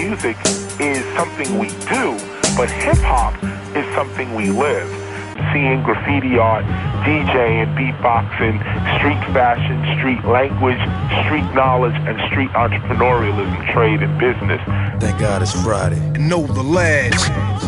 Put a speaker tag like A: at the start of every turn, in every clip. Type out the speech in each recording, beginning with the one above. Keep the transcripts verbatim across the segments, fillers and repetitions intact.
A: music is something we do, but hip-hop is something we live. Seeing graffiti art, DJing, beatboxing, street fashion, street language, street knowledge, and street entrepreneurialism, trade, and business.
B: Thank God it's Friday. Know the ledge.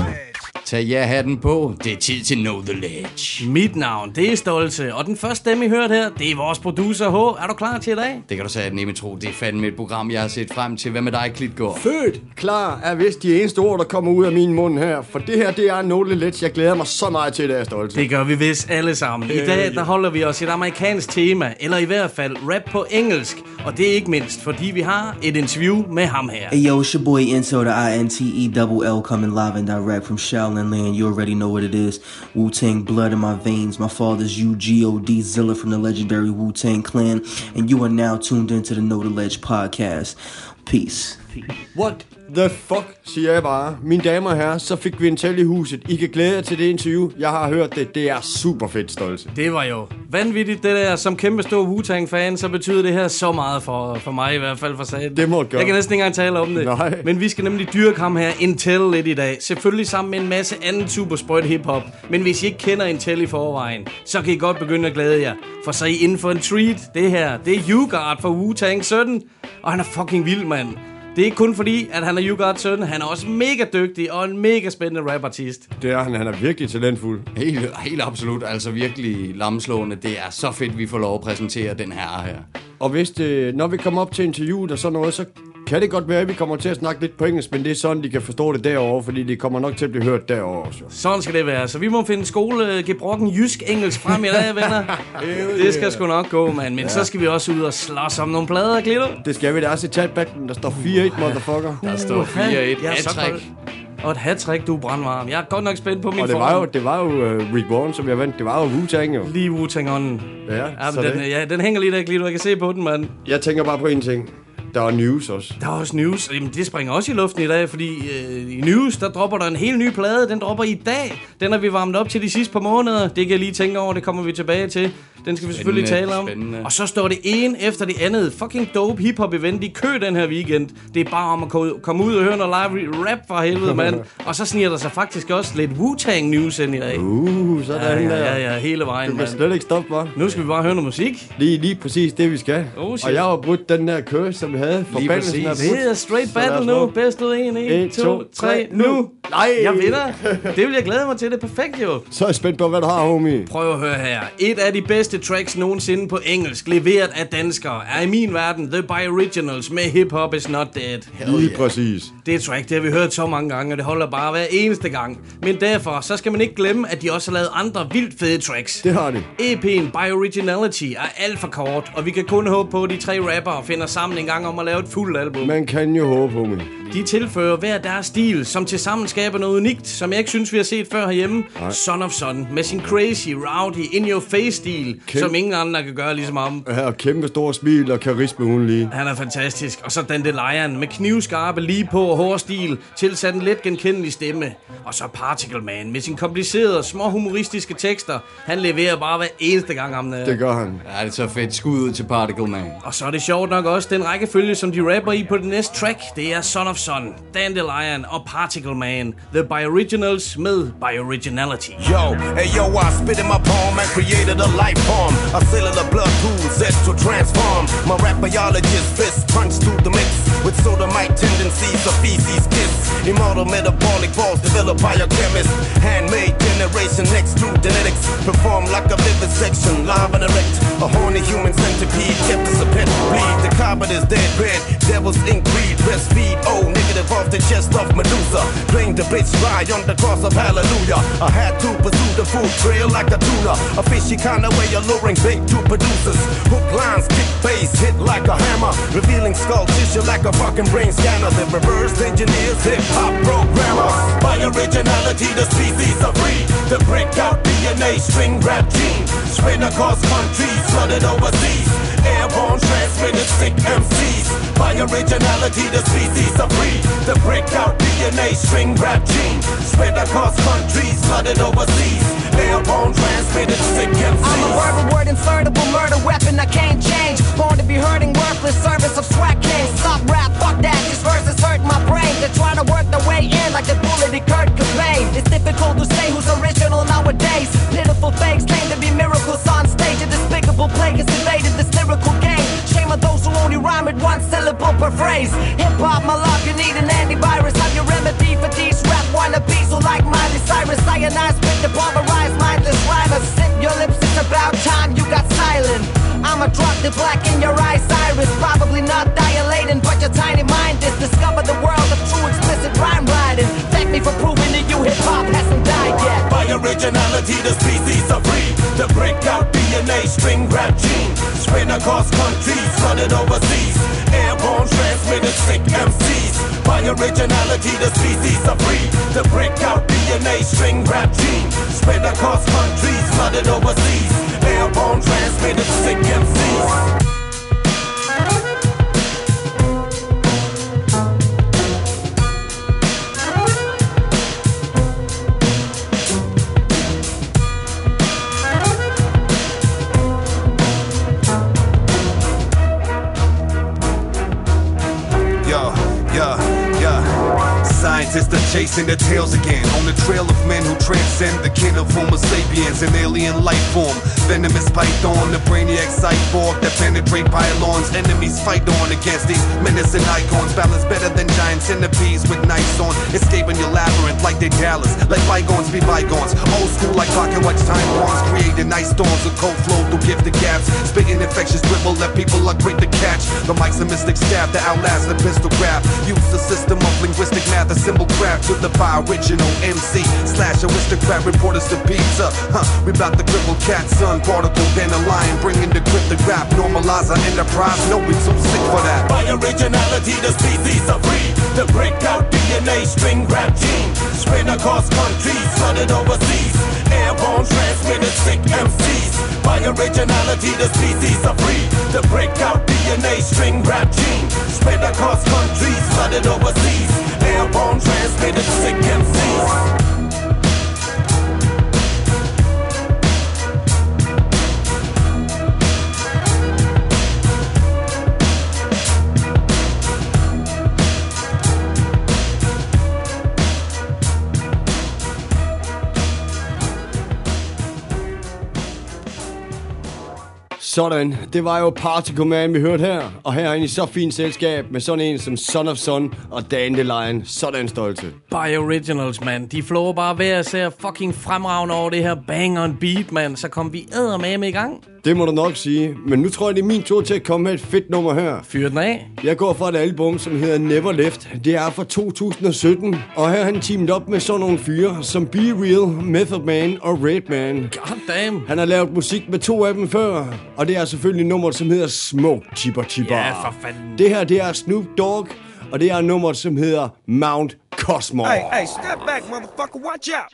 C: Tag jer hatten på, det er tid til Know the Ledge.
D: Mit navn, det er Stolte, og den første stemme, I hørte her, det er vores producer H. Er du klar til i dag?
C: Det kan du sige, nemme tro. Det er fandme et program, jeg har set frem til. Hvad med dig, Klitgaard?
E: Født klar er vist de eneste ord, der kommer ud af min mund her. For det her, det er Know the Ledge. Jeg glæder mig så meget til, det er Stolte.
D: Det gør vi vist alle sammen. I dag, der holder vi os et amerikansk tema, eller i hvert fald rap på engelsk. Og det er ikke mindst, fordi vi har et interview med ham her.
F: Hey yo, it's your boy Into, the I N T E L L, coming live and direct from Shaolin Land. You already know what it is. Wu-Tang blood in my veins. My father's U G O D Zilla from the legendary Wu-Tang Clan. And you are now tuned into the Know the Ledge podcast. Peace.
E: What the fuck, siger jeg bare. Mine damer og herrer, så fik vi en tæl i huset. I kan glæde jer til det interview. Jeg har hørt det. Det er super fedt, Stolte.
D: Det var jo vanvittigt, det der. Som kæmpe stor Wu-Tang-fan, så betyder det her så meget for, for mig i hvert fald, for sagen.
E: Det må gøre.
D: Jeg kan næsten ikke engang tale om det.
E: Nej.
D: Men vi skal nemlig dyrke ham her Intel lidt i dag. Selvfølgelig sammen med en masse anden supersprøjt hiphop. Men hvis I ikke kender Intel i forvejen, så kan I godt begynde at glæde jer. For så er I inden for en treat. Det her, det er U-Guard for Wu-Tang sytten. Og han er fucking vild, mand. Det er ikke kun fordi, at han er U-Guard sytten. Han er også mega dygtig og en mega spændende rapartist.
E: Det er han. Han er virkelig talentfuld.
C: Helt, helt absolut. Altså virkelig lamslående. Det er så fedt, vi får lov at præsentere den her her.
E: Og hvis det, når vi kommer op til interviewet og sådan noget, så kan det godt være, at vi kommer til at snakke lidt på engelsk, men det er sådan, de kan forstå det derovre, fordi de kommer nok til at blive hørt derovre også.
D: Sådan skal det være. Så vi må finde skole gebrokken jysk-engelsk frem i dag, venner. Det skal sgu nok gå, mand. Men ja. Så skal vi også ud og slås om nogle plader, Glitto.
E: Det skal vi. Der er også i chatbacken, der står fire et, motherfucker.
C: Der står fire et. Hat-trick.
D: Og et hat-trick, du er brandvarm. Jeg er godt nok spændt på min
E: form. Og det var jo, det var jo uh, Rick Warren, som jeg vandt. Det var jo Wu-Tang, jo.
D: Lige Wu-Tang-ånden.
E: Ja,
D: ja,
E: så
D: den,
E: det.
D: ja, den hænger lige der, Glitto. Jeg kan se på den, mand.
E: Jeg tænker bare på en ting. Der er news også.
D: Der er også news. Jamen, det springer også i luften i dag, fordi øh, i news, der dropper der en helt ny plade. Den dropper i dag. Den har vi varmet op til de sidste par måneder. Det kan jeg lige tænke over, det kommer vi tilbage til. Den skal vi selvfølgelig tale om. Spændende. Og så står det en efter det andet. Fucking dope hip-hop event i kø den her weekend. Det er bare om at komme ud og høre noget live rap for helvede, mand. Og så sniger der sig faktisk også lidt Wu-Tang news ind i dag.
E: Uh, sådan
D: ja,
E: der.
D: Ja, ja, ja, hele vejen,
E: du kan
D: mand.
E: slet ikke stoppe, hva'?
D: Nu skal vi bare høre noget musik.
E: Lige, lige præcis det, vi skal.
D: Oh,
E: og jeg har brudt den der kø, som vi havde.
C: Lige præcis.
D: Det er straight battle nu. Bedst ud en, en, to, tre, nu.
E: Nej.
D: Jeg vinder. Det vil jeg glæde mig til. Det er perfekt, jo.
E: Så er jeg spændt på, hvad du har, homie.
D: Prøv at høre her. Et af de bedste tracks nogensinde på engelsk, leveret af danskere, er i min verden The By Originals med Hip Hop Is Not Dead.
E: Lige yeah. præcis.
D: Det er track, det har vi hørt så mange gange, og det holder bare hver eneste gang. Men derfor, så skal man ikke glemme, at de også har lavet andre vildt fede tracks.
E: Det har de.
D: E P'en By Originality er alt for kort, og vi kan kun håbe på, at de tre rappere finder sammen en gang om at lave et fuldt album.
E: Man kan jo håbe, homie.
D: De tilfører hver deres stil, som tilsammen skaber noget unikt, som jeg ikke synes, vi har set før herhjemme. Nej. Son of Son, med sin crazy, rowdy, in-your-face-stil, Kæm- som ingen andre kan gøre ligesom ham.
E: Ja, og kæmpe stor smil og karisme, hun lige.
D: Han er fantastisk. Og så Dandelion med knivskarpe lige på og hård stil, tilsat en let genkendelig stemme. Og så Particle Man med sin komplicerede, små humoristiske tekster. Han leverer bare hver eneste gang ham der.
E: Det gør han.
C: Ja, det er så fedt. Skud ud til Particle Man.
D: Og så er det sjovt nok også den rækkefølge, som de rapper i på det næste track. Det er Son of Son, Dandelion og Particle Man. The By Originals med By Originality.
G: Yo, hey yo, I spit in my palm and created a life form. A cellular blood pool set to transform. My rap biologist fist punch through the mix with sodomite tendencies of feces kiss. Immortal metabolic balls develop biochemist. Handmade generation next to genetics. Perform like a vivisection, live and erect. A horny human centipede kept as a pet. Bleed the carpet is dead red. Devil's ink breed, breastfeed. Oh, negative off the chest of Medusa. Drain the bitch dry on the cross of hallelujah. I had to pursue the food trail like a tuna. A fishy kind of way alluring bait to producers. Hook lines, kick bass, hit like a hammer. Revealing skull tissue like a fucking brain scanner. The reverse engineers, hip hop programmers. By originality, the species are free. The break out D N A string rap gene. Spread across countries, flooded overseas. Airborne transmitted sick M Cs. By originality, the species are free. The breakout D N A string rap gene. Spread across countries, flooded overseas. Airborne transmitted sick M Cs.
H: I'm a verbal word, insertable murder weapon I can't change. Born to be hurting, worthless service of swag kings. Stop rap, fuck that, these verses hurt my brain. The I'ma drop the black in your eyes, iris. Probably not dilating, but your tiny mind is. Discover the world of true explicit rhyme writing. Thank me for proving to you hip-hop hasn't died yet.
G: By originality, the species are free to break out D N A, string rap gene. Spread across countries, flooded overseas. Airborne, transmitted, sick M Cs. By originality, the species are free to break out D N A, string rap gene. Spread across countries, flooded overseas. Airborne, transmitted, sick M Cs.
I: Scientists are chasing their tails again on the trail of men who transcend the kin of Homo sapiens, an alien life form. Venomous python, the brainiac cyborg that penetrate pylons. Enemies fight on against these menacing icons. Balance better than giant centipedes with knives on. Escaping your labyrinth like they Dallas. Let bygones be bygones. Old school like clock and watch time bombs. Creating nice storms of cold flow through gifted gaps. Spitting infectious dribble that people are quick to catch. The mic's a mystic stab to outlast the pistol grab. Use the system of linguistic math, a symbol craft to the by original M C slash aristocrat. Reporters to pizza. Huh, we bout to cripple cat, son. Particle, then a lion, bringing the cryptic rap. Normalize our enterprise, no, we too sick for that.
G: By originality, the species are free to break out D N A, string rap gene. Spread across countries, flooded overseas. Airborne, transmitted, sick M Cs. By originality, the species are free to break out D N A, string rap gene. Spread across countries, flooded overseas. Airborne, transmitted, sick M Cs.
E: Sådan, det var jo Particle Man, vi hørte her. Og herinde i så fint selskab med sådan en som Son of Sun og Dandelion. Sådan stolte.
D: By Originals, man. De flår bare hver ser fucking fremragende over det her bang on beat, man. Så kom vi eddermame i gang.
E: Det må du nok sige. Men nu tror jeg, det er min tur til at komme med et fedt nummer her.
D: Fyr den af.
E: Jeg går fra et album, som hedder Never Left. Det er fra to tusind og sytten. Og her har han teamet op med sådan nogle fyre som Be Real, Method Man og Redman.
D: God damn.
E: Han har lavet musik med to af dem før. Og det er selvfølgelig nummeret, som hedder Smoke Chipper Chipper.
D: Ja, for fanden.
E: Det her, det er Snoop Dogg. Og det er nummeret, som hedder Mount Cosmo.
J: Hey, hey, step back, motherfucker. Watch out.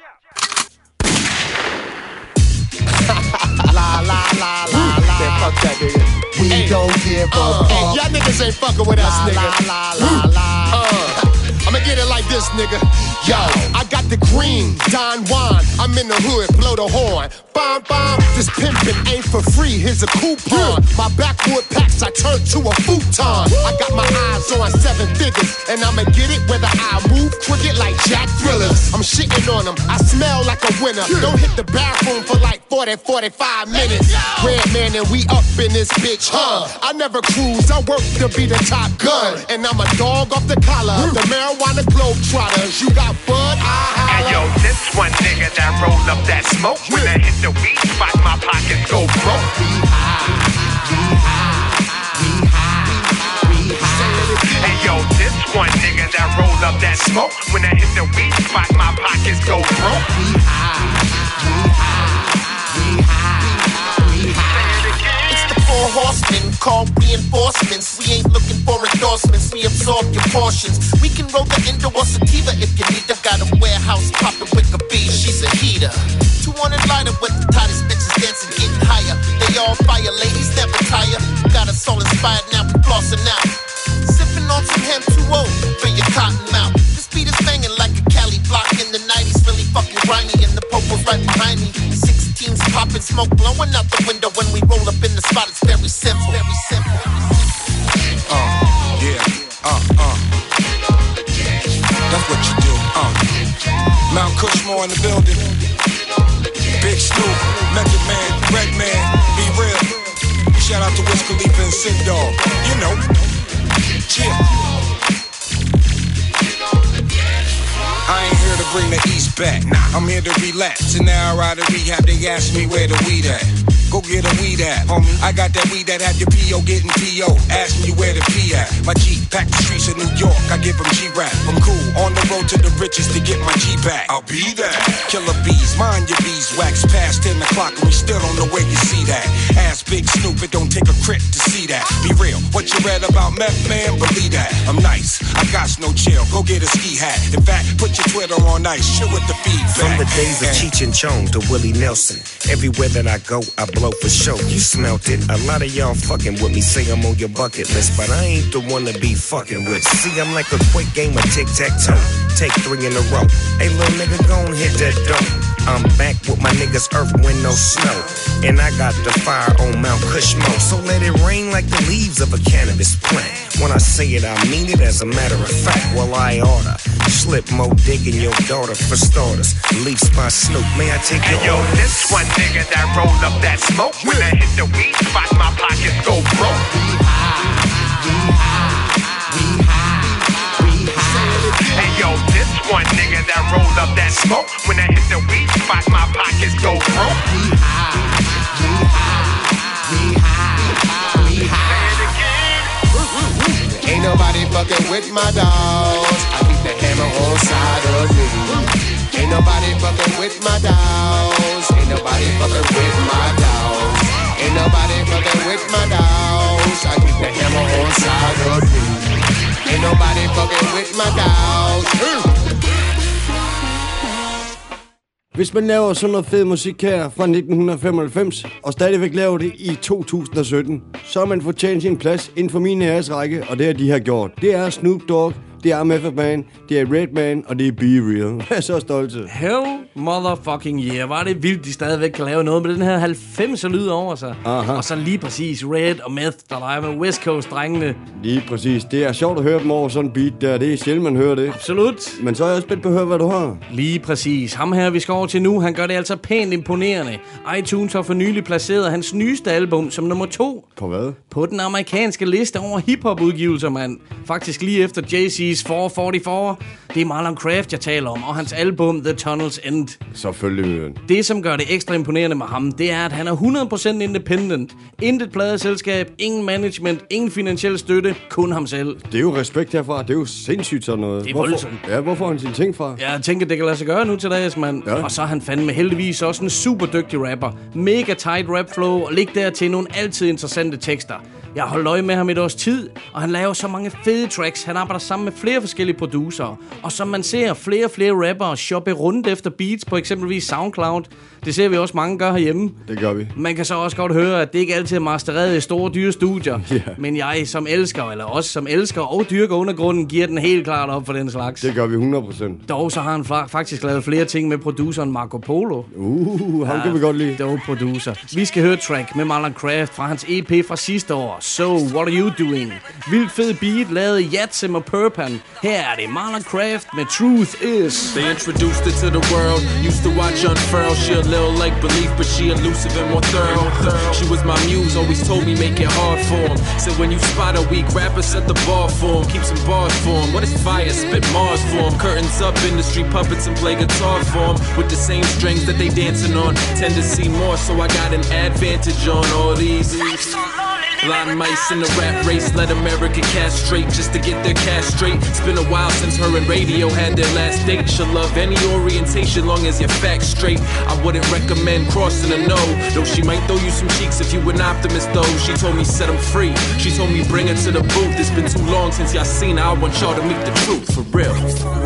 K: La la la la la.
J: Man, fuck that nigga.
K: We hey, don't give a uh, fuck. Hey, y'all niggas ain't fucking with us, nigga. La la la la. Uh, I'ma get it like this, nigga. Yo, I got the green Don Juan. I'm in the hood, blow the horn. Bomb bomb. This pimpin' ain't for free. Here's a coupon. My backwood packs I turned to a futon. I got my eyes on seven figures, and I'ma get it whether I move crooked like Jack Thrillers. I'm shitting on them. I smell like a winner. Don't hit the bathroom for like forty, forty-five minutes. Redman and we up in this bitch, huh? I never cruise. I work to be the top gun, and I'm a dog off the collar. The marijuana globetrotters. You got bud, I holla.
L: Hey yo, this one nigga that roll up that smoke. When I hit the weed spot, my pockets go broke.
K: We high, we high, we high, we high.
L: Hey yo, this one nigga that roll up that smoke. When I hit the weed spot, my pockets go broke.
K: We high, we high, we high, we high. It's the four horsemen called reinforcements. We ain't looking for endorsements. We absorb your portions. We can roll the Indo or sativa if you need her. Got a warehouse poppin' with a bee. She's a heater. two hundred lighter with the tightest bitches dancing, getting higher. They all fire, ladies never tire. Got us all inspired, now we flossin' out. Sippin' on some Hem two oh for your cotton mouth. This beat is banging like a Cali block in the nineties. Really fucking grimy and the popo's right behind me. sixteens poppin', smoke blowing out the window. When we roll up in the spot, it's very simple. Very simple.
J: Uh, yeah, uh, uh. That's what you do, uh. Mount Cushmore in the building. Big Snoop, Method Man, Redman, Be Real. Shout out to Wiz Khalifa and Sin Dog. You know. Yeah. I ain't here to bring the East back. I'm here to relax, and now I ride to rehab. They ask me where the weed at. Go get a weed at, homie. I got that weed that had your P O getting P O. Ask me where the P at. My G pack the streets of New York. I give them G-Rap. I'm cool. On the road to the riches to get my G back. I'll be there. Killer bees, mind your beeswax. Past ten o'clock and we still on the way, you see that. Ask Big Snoop, it don't take a crit to see that. Be real, what you read about meth, man, believe that. I'm nice, I got no chill. Go get a ski hat. In fact, put your Twitter on ice. Shit with the feedback.
M: From the days of Cheech and Chong to Willie Nelson, everywhere that I go, I blow for show. You smelt it. A lot of y'all fucking with me, say I'm on your bucket list, but I ain't the one to be fucking with. See, I'm like a quick game of tic-tac-toe. Take three in a row. Hey, little nigga, gon' hit that dope. I'm back with my niggas, earth, wind, no snow. And I got the fire on Mount Cushmo. So let it rain like the leaves of a cannabis plant. When I say it, I mean it as a matter of fact. Well, I oughta slip more dick in your daughter for starters. Leafs by Snoop, may I take your
L: Hey, yo,
M: orders?
L: this one nigga that rolled up that smoke. When I hit the weed spot, my pockets go broke. Hey, yo, this one nigga that rolled up that smoke. When I hit the weed spot, my pockets go broke.
K: Ain't nobody fucking with my dogs. I keep the hammer on side of me. Ain't nobody fucking with my dogs. Ain't nobody fucking with my dogs. Ain't nobody fucking with my dogs. I keep the hammer on side of me. Ain't nobody fucking with my dogs.
E: Hvis man laver sådan noget fed musik her fra nitten femoghalvfems, og stadigvæk laver det i to tusind og sytten, så har man fortjent sin plads inden for min æresrække, og det har de har gjort. Det er Snoop Dogg, det er Method Man, det er Redman, og det er Be Real. Jeg er så stolt til.
D: Hell motherfucking yeah. Var det vildt, de stadigvæk kan lave noget med den her halvfemser lyd over sig.
E: Aha.
D: Og så lige præcis Red og Meth, der leger med West Coast-drengene.
E: Lige præcis. Det er sjovt at høre dem over sådan en beat der. Det er sjældent, man hører det.
D: Absolut.
E: Men så er jeg også spændt på at høre, hvad du har.
D: Lige præcis. Ham her, vi skal over til nu, han gør det altså pænt imponerende. iTunes har for nylig placeret hans nyeste album som nummer to.
E: På hvad?
D: På den amerikanske liste over hiphop-udgivelser, mand. Faktisk lige efter Jay-Z's fire fyrre. Det er Marlon Craft, jeg taler om, og hans album The Tunnel's End.
E: Selvfølgelig.
D: Det, som gør det ekstra imponerende med ham, det er, at han er hundrede procent independent. Intet pladeselskab, ingen management, ingen finansiel støtte, kun ham selv.
E: Det er jo respekt herfra. Det er jo sindssygt sådan noget.
D: Det er
E: hvorfor,
D: voldsomt.
E: Ja, hvorfor har han sine ting fra?
D: Jeg tænker, det kan lade sig gøre nu til dags, mand. Ja. Og så er han fandme heldigvis også en super dygtig rapper. Mega tight rap flow, og lig der til nogle altid interessante tekster. Jeg har holdt øje med ham et års tid, og han laver så mange fede tracks. Han arbejder sammen med flere forskellige producerer. Og som man ser flere og flere rappere shoppe rundt efter beats på eksempelvis SoundCloud. Det ser vi også mange gør herhjemme.
E: Det gør vi.
D: Man kan så også godt høre, at det ikke altid er mastereret i store, dyre studier.
E: Yeah.
D: Men jeg som elsker, eller os som elsker og dyrker undergrunden, giver den helt klart op for den slags.
E: Det gør vi hundrede procent.
D: Dog så har han fa- faktisk lavet flere ting med produceren Marco Polo.
E: Uh, ham ja, kan vi godt lide.
D: Dog producer. Vi skal høre et track med Marlon Craft fra hans E P fra sidste år. So, what are you doing? Vildt fed beat lavet i Yatsim og Purpan. Her er det Marlon Craft med Truth Is.
N: They introduced her to the world. Used to watch unfurl. She a little like belief, but she elusive and more thorough. She was my muse, always told me make it hard for him. Said when you spot a weak rapper, set the bar for him. Keep some bars for him. What is fire? Spit Mars for him. Curtains up, industry puppets and play guitar for him. With the same strings that they dancing on. Tend to see more, so I got an advantage on all these. Blind mice in the rap race, let America castrate just to get their cash straight. It's been a while since her and radio had their last date. She'll love any orientation long as you're facts straight. I wouldn't recommend crossing a no, though she might throw you some cheeks if you an optimist though. She told me set them free, she told me bring her to the booth. It's been too long since y'all seen her, I want y'all to meet the truth, for real.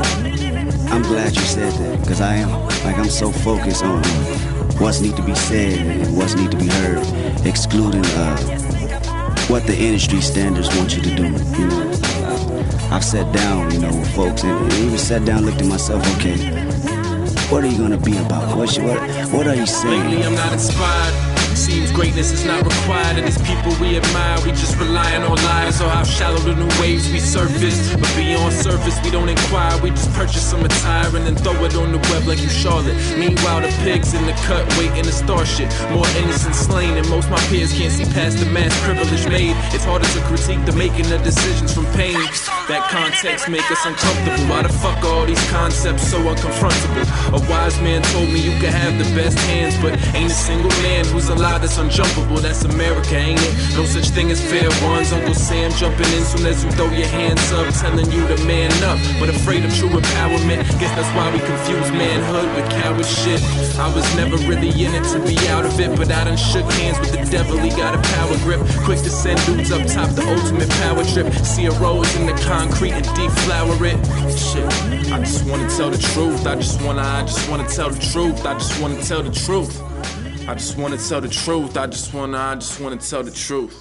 O: I'm glad you said that, because I am, like I'm so focused on what's need to be said and what's need to be heard, excluding uh, what the industry standards want you to do, you know. I've sat down, you know, with folks, and even sat down, looked at myself, okay, what are you gonna be about? What, what, what are you saying?
N: Lately I'm not inspired, seems greatness is not required of these people we admire. We just relying on lies or how shallow the new waves we surface. But beyond surface, we don't inquire. We just purchase some attire and then throw it on the web like you Charlotte. Meanwhile, the pigs in the cut waiting to start shit. More innocent slain and most my peers can't see past the mass privilege made. It's harder to critique the making of decisions from pain. That context make us uncomfortable. Why the fuck are all these concepts so unconfrontable? A wise man told me you can have the best hands, but ain't a single man who's alive that's unjumpable. That's America, ain't it? No such thing as fair ones. Uncle Sam jumping in soon as you throw your hands up, telling you to man up, but afraid of true empowerment. Guess that's why we confuse manhood with coward shit. I was never really in it to be out of it, but I done shook hands with the devil, he got a power grip. Quick to send dudes up top, the ultimate power trip. See a rose in the concrete and deflower it. Shit, I just wanna tell the truth. I just wanna, I just wanna tell the truth. I just wanna tell the truth. I just wanna tell the truth. I just wanna, I just wanna tell the truth.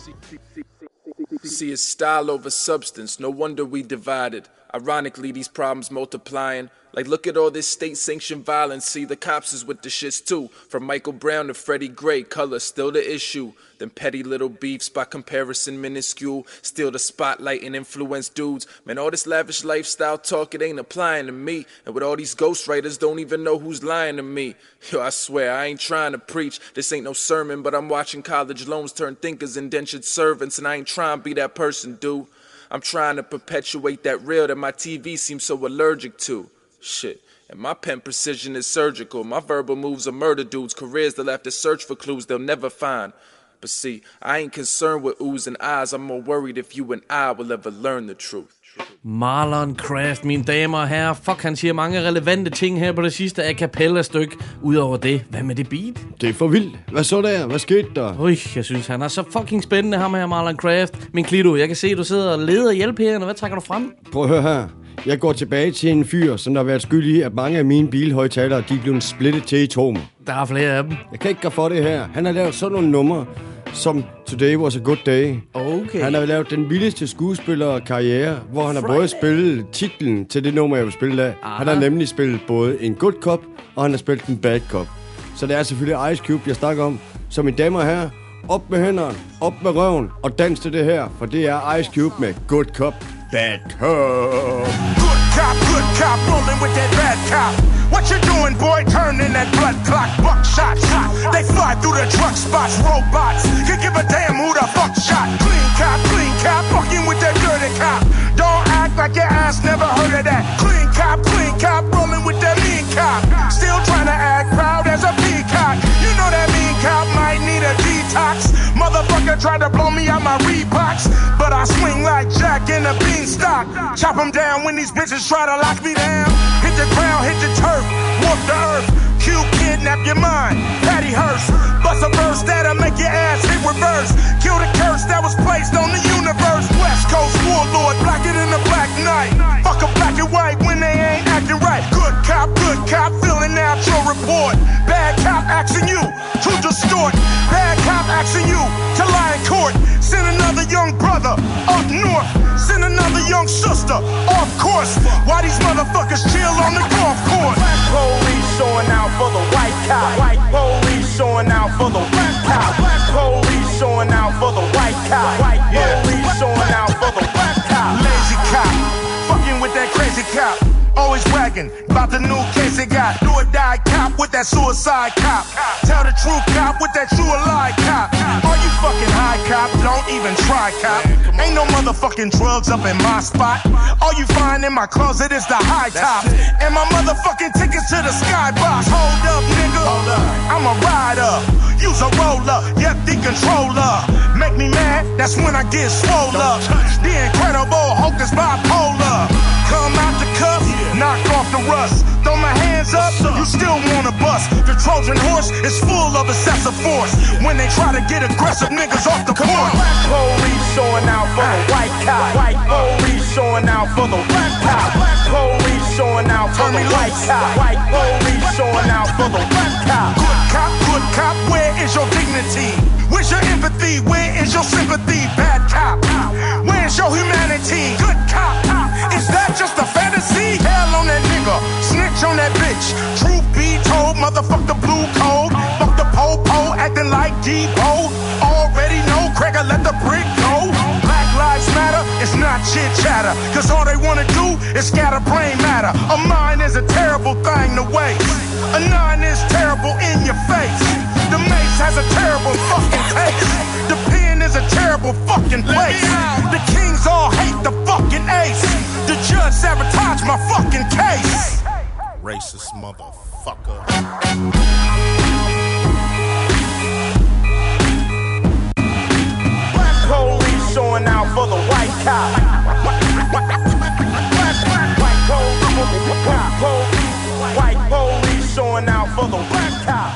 N: See, it's style over substance. No wonder we divided. Ironically, these problems multiplying. Like, look at all this state-sanctioned violence. See, the cops is with the shits too. From Michael Brown to Freddie Gray, color still the issue. Them petty little beefs, by comparison minuscule. Still the spotlight and influence dudes. Man, all this lavish lifestyle talk, it ain't applying to me. And with all these ghostwriters, don't even know who's lying to me. Yo, I swear, I ain't trying to preach. This ain't no sermon, but I'm watching college loans turn thinkers, indentured servants. And I ain't trying to be that person, dude. I'm trying to perpetuate that real that my T V seems so allergic to. Shit. And my pen precision is surgical. My verbal moves are murder dudes. Careers they'll have to search for clues they'll never find. But see, I ain't concerned with oohs and ahs. I'm more worried if you and I will ever learn the truth.
D: Marlon Craft, mine damer og herrer. Fuck, han siger mange relevante ting her på det sidste a cappella-stykke. Udover det, hvad med det beat?
E: Det er for vildt. Hvad så der? Hvad skete der?
D: Ui, jeg synes, han er så fucking spændende, ham her, Marlon Craft. Min Klito, jeg kan se, du sidder og leder hjælp her. Hvad trækker du frem?
E: Prøv at høre her. Jeg går tilbage til en fyr, som der har været skyld i, at mange af mine bilhøjtalere, de er blevet splittet til atomer.
D: Der er flere af dem.
E: Jeg kan ikke gøre for det her. Han har lavet sådan nogle numre, som Today Was a Good Day.
D: Okay.
E: Han har lavet den vildeste skuespillerkarriere, hvor han har både spillet titlen til det nummer, jeg vil spille af. Aha. Han har nemlig spillet både en good cop, og han har spillet en bad cop. Så det er selvfølgelig Ice Cube, jeg snakker om. Så mine damer her, op med hænderne, op med røven, og dans til det her, for det er Ice Cube med Good Cop, Bad Cop.
L: Good cop, good cop, rolling with that bad cop. What you doing, boy? Turning that blood clock, buckshot. They fly through the truck spots, robots. Can give a damn who the fuck shot. Clean cop, clean cop, fucking with that dirty cop. Don't act like your ass never heard of that. Clean cop, clean cop, rolling with that mean cop. Still trying to act proud as a peacock. You know that mean cop might need a detox. Motherfucker tried to blow me out my Reeboks, but I swing like Jack in a beanstalk. Chop them down when these bitches try to lock me down. Hit the ground, hit the turf, warp the earth. Q kidnap your mind, Patty Hearst. Bust a verse that'll make your ass hit reverse. Kill the curse that was placed on the universe. West Coast warlord, blacker than a black night. Fuck a black and white when they ain't acting right. Good cop, good cop, filling out your report. Bad cop asking you to distort. Bad cop asking you to lie in court. Send another young brother up north. Send another young sister off course. Why these motherfuckers chill on the golf course? Black police showing out for the white cop. White police showing out for the black cop. Black police showing out for the white cop. White police showing out for the black cop. Lazy cop, fucking with that crazy cop. Always bragging about the new case they got. Do or die cop with that suicide cop. Tell the truth cop with that true or lie cop. Are you fucking high cop? Don't even try cop. Ain't no motherfucking drugs up in my spot. All you find in my closet is the high top. And my motherfucking tickets to the skybox. Hold up, nigga. I'm a rider. Use a roller. Yep, the controller. Make me mad, that's when I get swole up. The Incredible Hulk is bipolar. Come out the cuff, knock off the rust. Throw my hands up, you still wanna bust. The Trojan horse is full of excessive force. When they try to get aggressive niggas off the court. Black police showing out for the white cop. White police showing out for the black cop. Black police showing out for the white cop. White police showing out for the black cop. Good cop, good cop, where is your dignity? Where's your empathy? Where is your sympathy? Bad cop, where's your humanity? Good cop, is that just a fantasy? Hell on that nigga, snitch on that bitch. Truth be told, motherfuck the blue code. Fuck the po-po, acting like Depot. Already know, Cracker, let the brick go. Black lives matter, it's not chit chatter. Cause all they wanna do is scatter brain matter. A mind is a terrible thing to waste. A nine is terrible in your face. The mace has a terrible fucking taste. The pen is a terrible fucking place. The kings all hate the fucking ace. The judge sabotaged my fucking case.
K: Racist motherfucker.
L: Black police showing out for the white cop. White police, white police showing out for the black cop.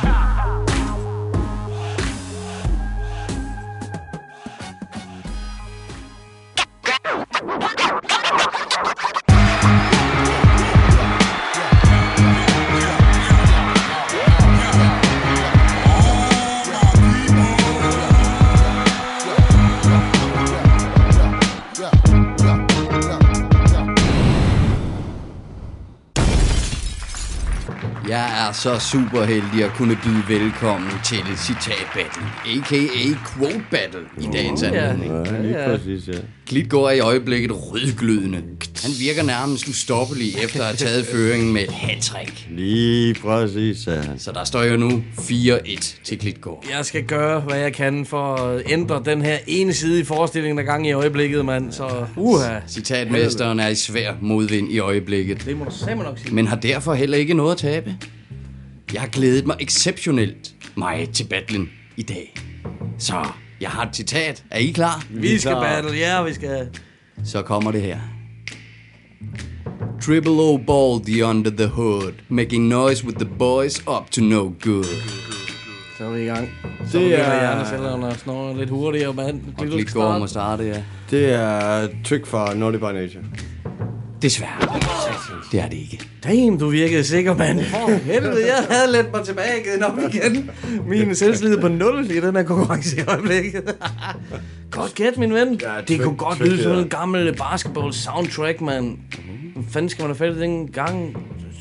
C: Jeg er så super heldig at kunne byde velkommen til Citat Battle, a k a. Quote Battle, i dagens anledning.
E: Ja, lige præcis, ja.
C: Klitgaard er i øjeblikket rødglødende. Han virker nærmest ustoppelig efter at have taget føringen med et hat-trick.
E: Lige præcis, ja.
C: Så der står jo nu fire et til Klitgaard.
D: Jeg skal gøre, hvad jeg kan for at ændre den her ene side i forestillingen, der gang i øjeblikket, mand. Så uha.
C: Citatmesteren er i svær modvind i øjeblikket.
D: Det må du simpelthen nok sige.
C: Men har derfor heller ikke noget at tabe. Jeg har glædet mig exceptionelt meget til battlen i dag. Så jeg har et citat. Er I klar?
D: Vi skal battle, ja, vi skal.
C: Så kommer det her. Triple O ball the under the hood, making noise with the boys up to no good.
D: Så er vi i gang. Så
E: det
D: begynder
E: er
D: hjernecellerne at snurre lidt hurtigere, mand.
C: Og Klitgaard må starte, ja.
E: Det er trick fra Naughty by Nature.
C: Desværre. Det er det ikke.
D: Damn, du virkede sikker, mand. For helvede, jeg havde let mig tilbage igen op igen. Min selvslid på nul i den her konkurrence i øjeblikket. Godt gæt, min ven. Ja, det kunne godt lyde som en gammel basketball soundtrack, mand. Hvad fanden skal man have fat i den gang?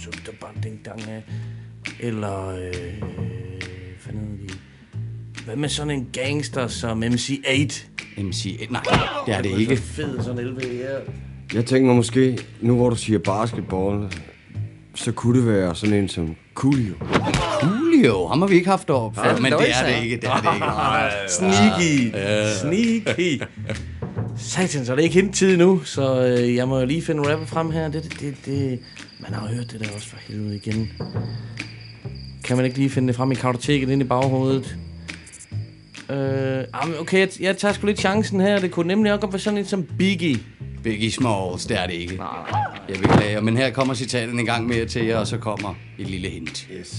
D: Eller... Øh, fanden de... Hvad med sådan en gangster som M C otte?
C: M C otte? Nej, det er det ikke.
D: Så fed sådan en L V her.
E: Jeg tænker mig måske, nu hvor du siger basketball, så kunne det være sådan en som Coolio.
C: Coolio? Ham har vi ikke haft op før, men det er det ikke. Det er det ikke.
D: Sneaky. Sneaky. Satan, så er det ikke helt tid nu, så øh, jeg må jo lige finde rapper frem her. Det, det, det, det. Man har jo hørt det der også for helvede igen. Kan man ikke lige finde det frem i kartoteket ind i baghovedet? Øh, okay, jeg, jeg tager sgu lidt chancen her. Det kunne nemlig også godt være sådan en som Biggie.
C: Biggie Smalls, det er det ikke. Jeg beklager, men her kommer citaten en gang mere til jer, og så kommer et lille hint.
E: Yes.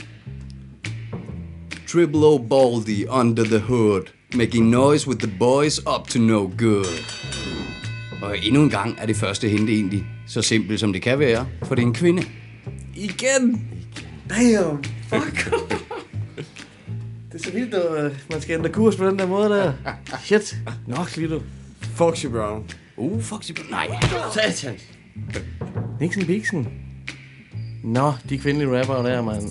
C: Triple O Baldy under the hood, making noise with the boys up to no good. Og endnu en gang er det første hint egentlig så simpelt som det kan være, for det er en kvinde.
D: Igen! Damn! Fuck! Det er så vildt, at man skal ændre kurs på den der måde der. Shit! Nok lige du.
E: Foxy Brown.
C: Uh, Foxy Brown. Nej.
D: Satan. Nixon Bixen. Nå, de kvindelige rapper der, mand.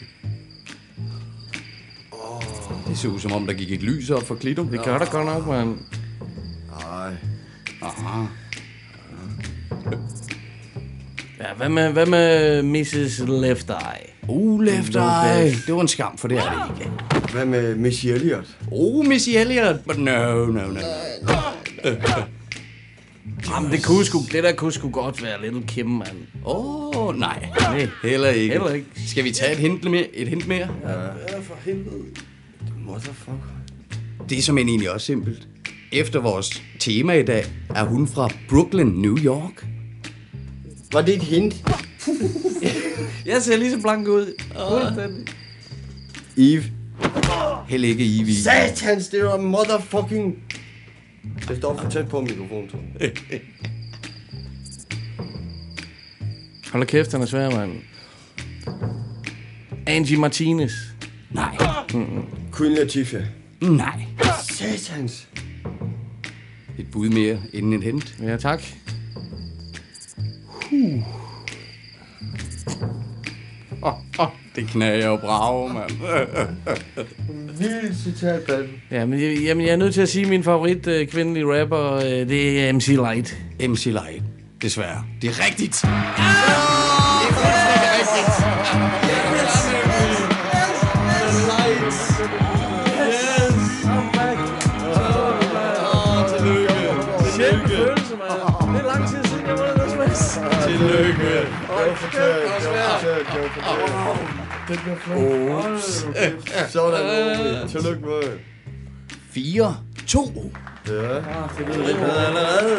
C: Oh, det så ud som om, der gik et lys op for Klito.
D: Det gør der godt nok, mand.
E: Nej.
C: Aha.
D: Ja, hvad med, hvad med missus Left Eye?
C: Uh, Left Eye. Det var en skam, for det er det ikke.
E: Hvad med Missy Elliott?
C: Oh, Missy Elliott. But no, no, no.
D: Jamen, det, kunne sgu, det der kunne sgu godt være Little Kim, mand.
C: Åh, oh, nej. nej. Heller ikke.
D: Heller ikke.
C: Skal vi tage et hint mere? Et hint mere?
D: Ja, ja for helvede.
E: Motherfucker.
C: Det er som egentlig også simpelt. Efter vores tema i dag, er hun fra Brooklyn, New York.
E: Var det et hint?
D: Jeg ser lige så blank ud.
E: Fuldstændig. Eve.
C: Heller ikke Eve.
E: Satans, det var motherfucking... Det står for tæt på mikrofonen, tror jeg.
D: Hold da kæft, han er svær, mand. Angie Martinez.
C: Nej.
E: Mm-mm. Queen Latifah.
C: Nej.
E: Satans.
C: Et bud mere inden et hint.
D: Ja, tak.
C: Huh. Det knager jo bravo, mand.
E: Vildt citatband.
D: Ja, men jeg, jamen, jeg er nødt til at sige, at min favorit øh, kvindelige rapper, øh, det er M C Light.
C: M C Light. Desværre. Det er rigtigt.
D: Ja!
C: Det er fuldstændig rigtigt.
E: Tillykke. Det bliver flot. Sådan. Tillykke med.
C: fire to.
E: Ja. Det lyder lidt bedre allerede.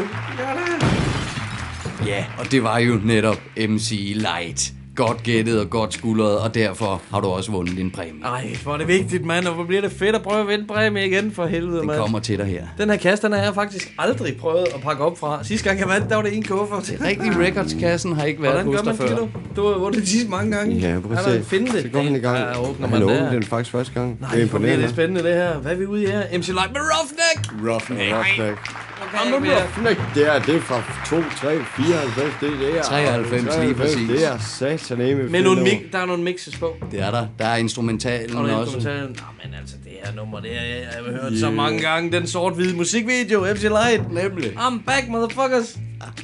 C: Ja, og det var jo netop M C Light. Godt gættet og godt skuldret, og derfor har du også vundet din præmie.
D: Ej, hvor er det vigtigt, mand, og hvor bliver det fedt at prøve at vinde præmie igen, for helvede,
C: Den
D: mand.
C: kommer til dig her.
D: Den her kasse, den har jeg faktisk aldrig prøvet at pakke op fra. Sidste gang jeg vandt, der var det en kuffer.
C: Det rigtige Records-kassen har ikke været hos dig før.
D: Du? Du har vundet de sidste mange gange.
E: Ja, prøv at se.
D: Finde det.
E: Så går han i gang.
D: Ja, åbner
E: han
D: man
E: åbner
D: der.
E: den faktisk første gang.
D: Nej,
E: det er
D: hvor bliver
E: imponerende.
D: det spændende det her. Hvad er vi ude i her? M C Light med Roughneck.
E: Roughneck. Roughneck.
D: Kom nu,
E: Roughneck. Det er, det er fra to, tre, fireoghalvfems. Det, det er
C: treoghalvfems lige præcis.
E: Det er sataneme.
D: Men nogle mix, der er nogle mixes på.
C: Det er der. Der er instrumentalen
D: og
C: også.
D: Instrumentalen. Nå, men altså, det her nummer, det har jeg, jeg har hørt yeah. så mange gange. Den sort-hvide musikvideo, M C Light.
C: Nemlig.
D: I'm back, motherfuckers.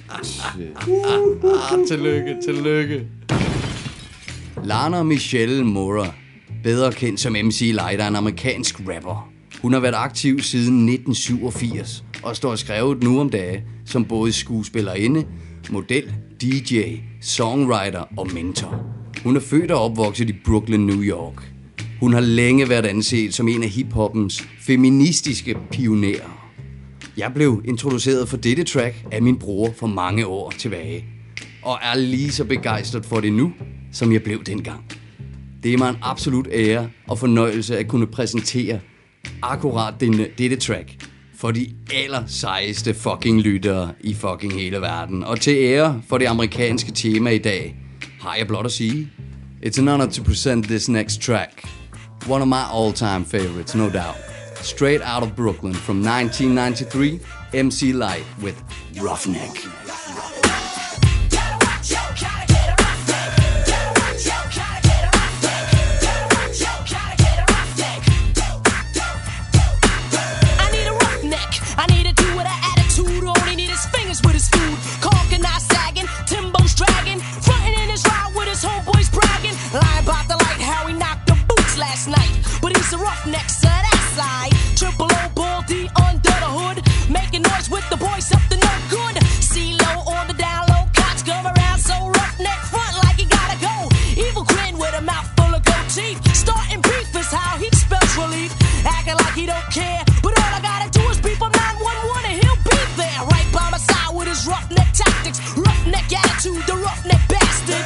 C: ah, tillykke, tillykke. Lana Michelle Mora, bedre kendt som M C Light, er en amerikansk rapper. Hun har været aktiv siden nitten syvogfirs og står skrevet nu om dage som både skuespillerinde, model, D J, songwriter og mentor. Hun er født og opvokset i Brooklyn, New York. Hun har længe været anset som en af hiphoppens feministiske pionerer. Jeg blev introduceret for dette track af min bror for mange år tilbage, og er lige så begejstret for det nu, som jeg blev dengang. Det er mig en absolut ære og fornøjelse at kunne præsentere akkurat denne, dette track for de aller sejeste fucking lyttere i fucking hele verden. Og til ære for det amerikanske tema i dag, har jeg blot at sige, it's an honor to present this next track. One of my all-time favorites, no doubt. Straight out of Brooklyn from nineteen ninety-three, M C Light with Roughneck.
P: Roughneck, so that side. Triple O, ball D under the hood. Making noise with the boys up to no good. C-Lo on the down low. Cops come around so roughneck front like he gotta go. Evil grin with a mouth full of gold teeth. Starting beef is how he spells relief. Acting like he don't care. But all I gotta do is beep on nine one one and he'll be there. Right by my side with his roughneck tactics. Roughneck attitude, the roughneck bastard.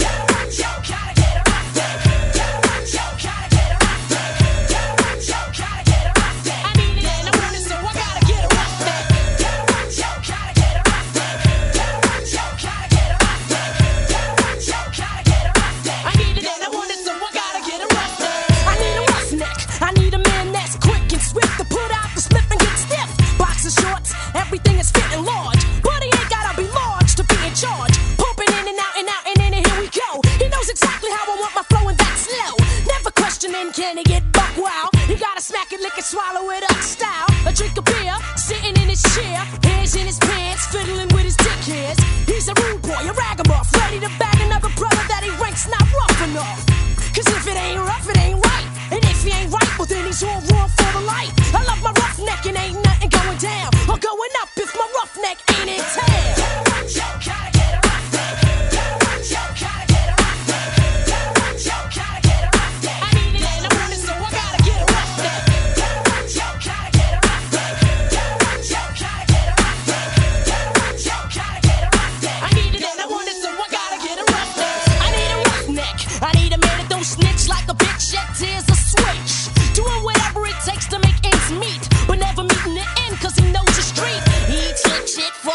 P: Everything is fitting large, but he ain't gotta be large to be in charge. Pumping in and out and out and in and here we go. He knows exactly how I want my flow and that's slow. Never questioning can he get buck wow. He gotta smack it, lick it, swallow it up style. A drink of beer, sitting in his chair, hands in his pants, fiddling with his dick hairs. He's a rude boy, a ragamuff, ready to bag another brother that he ranks not rough enough. Cause if it ain't rough, it ain't right. And if he ain't right, well then he's all wrong for the light. I love my roughneck and ain't nothing going down or going up if my roughneck ain't in town. Shit for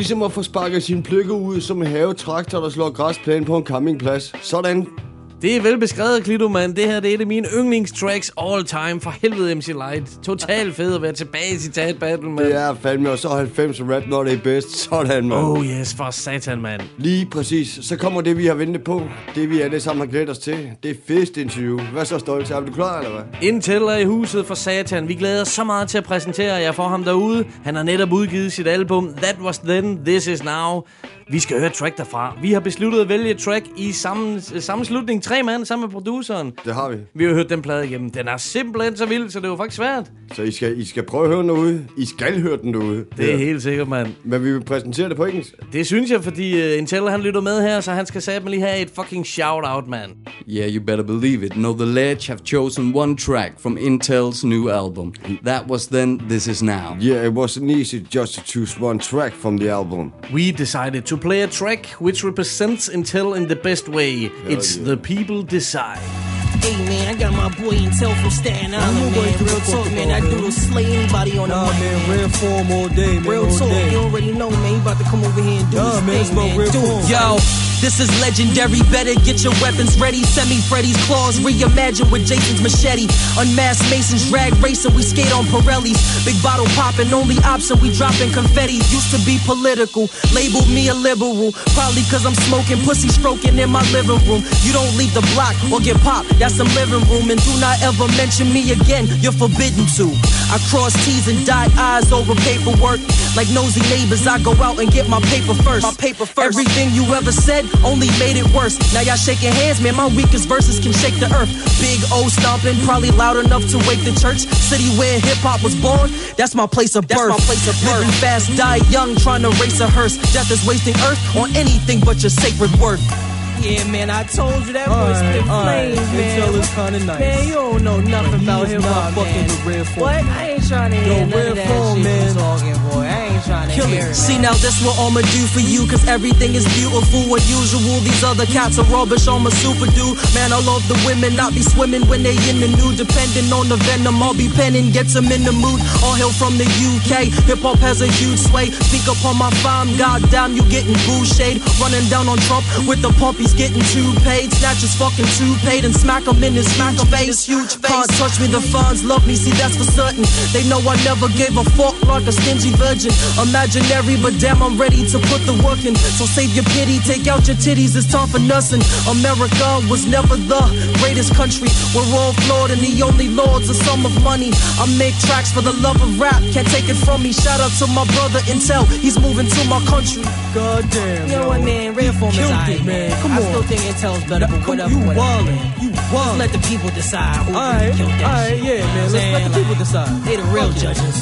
E: ligesom at få sparket sine pløkker ud som en havetraktor, der slår græsplæne på en campingplads. Sådan.
D: Det er velbeskrevet, Klito, mand. Det her det er et af mine yndlingstracks all time. For helvede, M C Light. Total fed at være tilbage i citat battle, mand.
E: Det er fandme, og så halvfems rap, når det er bedst. Sådan, mand.
D: Oh yes, for satan, mand.
E: Lige præcis. Så kommer det, vi har ventet på. Det, vi alle sammen har glædet os til. Det er fedest interview. Hvad så, Stolt? Er du klar, eller hvad?
D: Intel er i huset for satan. Vi glæder os så meget til at præsentere jer for ham derude. Han har netop udgivet sit album That Was Then, This Is Now. Vi skal høre et track derfra. Vi har besluttet at vælge et track i sammen, sammenslutning. Tre mand sammen med produceren.
E: Det har vi.
D: Vi har hørt den plade igennem. Den er simpelthen så vild, så det er jo faktisk svært.
E: Så I skal, I skal prøve at høre den derude. I skal høre den derude.
D: Det er ja. Helt sikkert, mand.
E: Men vi vil præsentere det på engelsk.
D: Det synes jeg, fordi uh, Intel han lytter med her, så han skal satme lige have et fucking shout-out, man.
C: Yeah, you better believe it. No, The Ledge have chosen one track from Intel's new album. That Was Then, This Is Now.
E: Yeah, it wasn't easy just to choose one track from the album.
D: We decided to play a track which represents Intel in the best way. Hell it's yeah. The People Decide.
P: Hey man, I got my boy Intel from Staten Island, man. Real talk, man. That dude will slay anybody on the
Q: nah,
P: mic,
Q: man.
P: man.
Q: Real form all day, man.
P: Real
Q: all
P: talk,
Q: day.
P: you already know, man. You about to come over here and do
Q: nah,
P: this
Q: man,
P: thing, man.
Q: Real form.
P: Yo, this is legendary. Better get your weapons ready. Semi Freddy's claws reimagine with Jason's machete. Unmasked Masons drag racing. We skate on Pirellis. Big bottle popping. Only option we dropping confetti. Used to be political. Labeled me a liberal. Probably cause I'm smoking pussy stroking in my living room. You don't leave the block or get popped. That's some living room. And do not ever mention me again. You're forbidden to. I cross T's and dot I's over paperwork. Like nosy neighbors, I go out and get my paper first. My paper first. Everything you ever said only made it worse. Now y'all shaking hands, man. My weakest verses can shake the earth. Big O stomping, probably loud enough to wake the church. City where hip hop was born, that's my place of birth. That's my place of birth. Living fast, die young, trying to race a hearse. Death is wasting earth on anything but your sacred worth. Yeah, man, I told you that boy spit flames, man.
Q: Intel is kinda nice.
P: Man, you don't know nothing about hip hop, man.
Q: Real form.
P: What? I ain't trying to hear
Q: Yo,
P: none
Q: real
P: of that
Q: form,
P: shit
Q: man.
P: you talking, boy. I ain't trying to
Q: Kill
P: hear
Q: it.
P: it.
Q: See,
P: now this what I'ma do for you, cause everything is beautiful. Unusual, these other cats are rubbish, I'm a super dude. Man, I love the women, not be swimming when they in the nude. Depending on the venom, I'll be penning, gets them in the mood. All hail from the U K, hip hop has a huge sway. Speak up on my fam, goddamn, you getting boo shade. Running down on Trump with the pump, he's getting too paid. Snatch his fucking two paid and smack him in his smack him face. Huge face. Can't touch me, the funds love me, see that's for certain. They know I never gave a fuck like a stingy virgin. Imaginary, but damn, I'm ready to put the work in. So save your pity, take out your titties, it's time for nursing. America was never the greatest country. We're all flawed and the only lords a sum of money. I make tracks for the love of rap, can't take it from me. Shout out to my brother Intel, he's moving to my country.
Q: God damn,
P: you know what, man? Real form is alright, man. Come I on. still think Intel's better, but whatever.
Q: You
P: whatever,
Q: wallin', you wallin'.
P: Just let the people decide who
Q: all
P: really
Q: right,
P: killed that
Q: all right,
P: shit.
Q: yeah, man. Let's let the people decide.
P: They the real
Q: okay.
P: judges.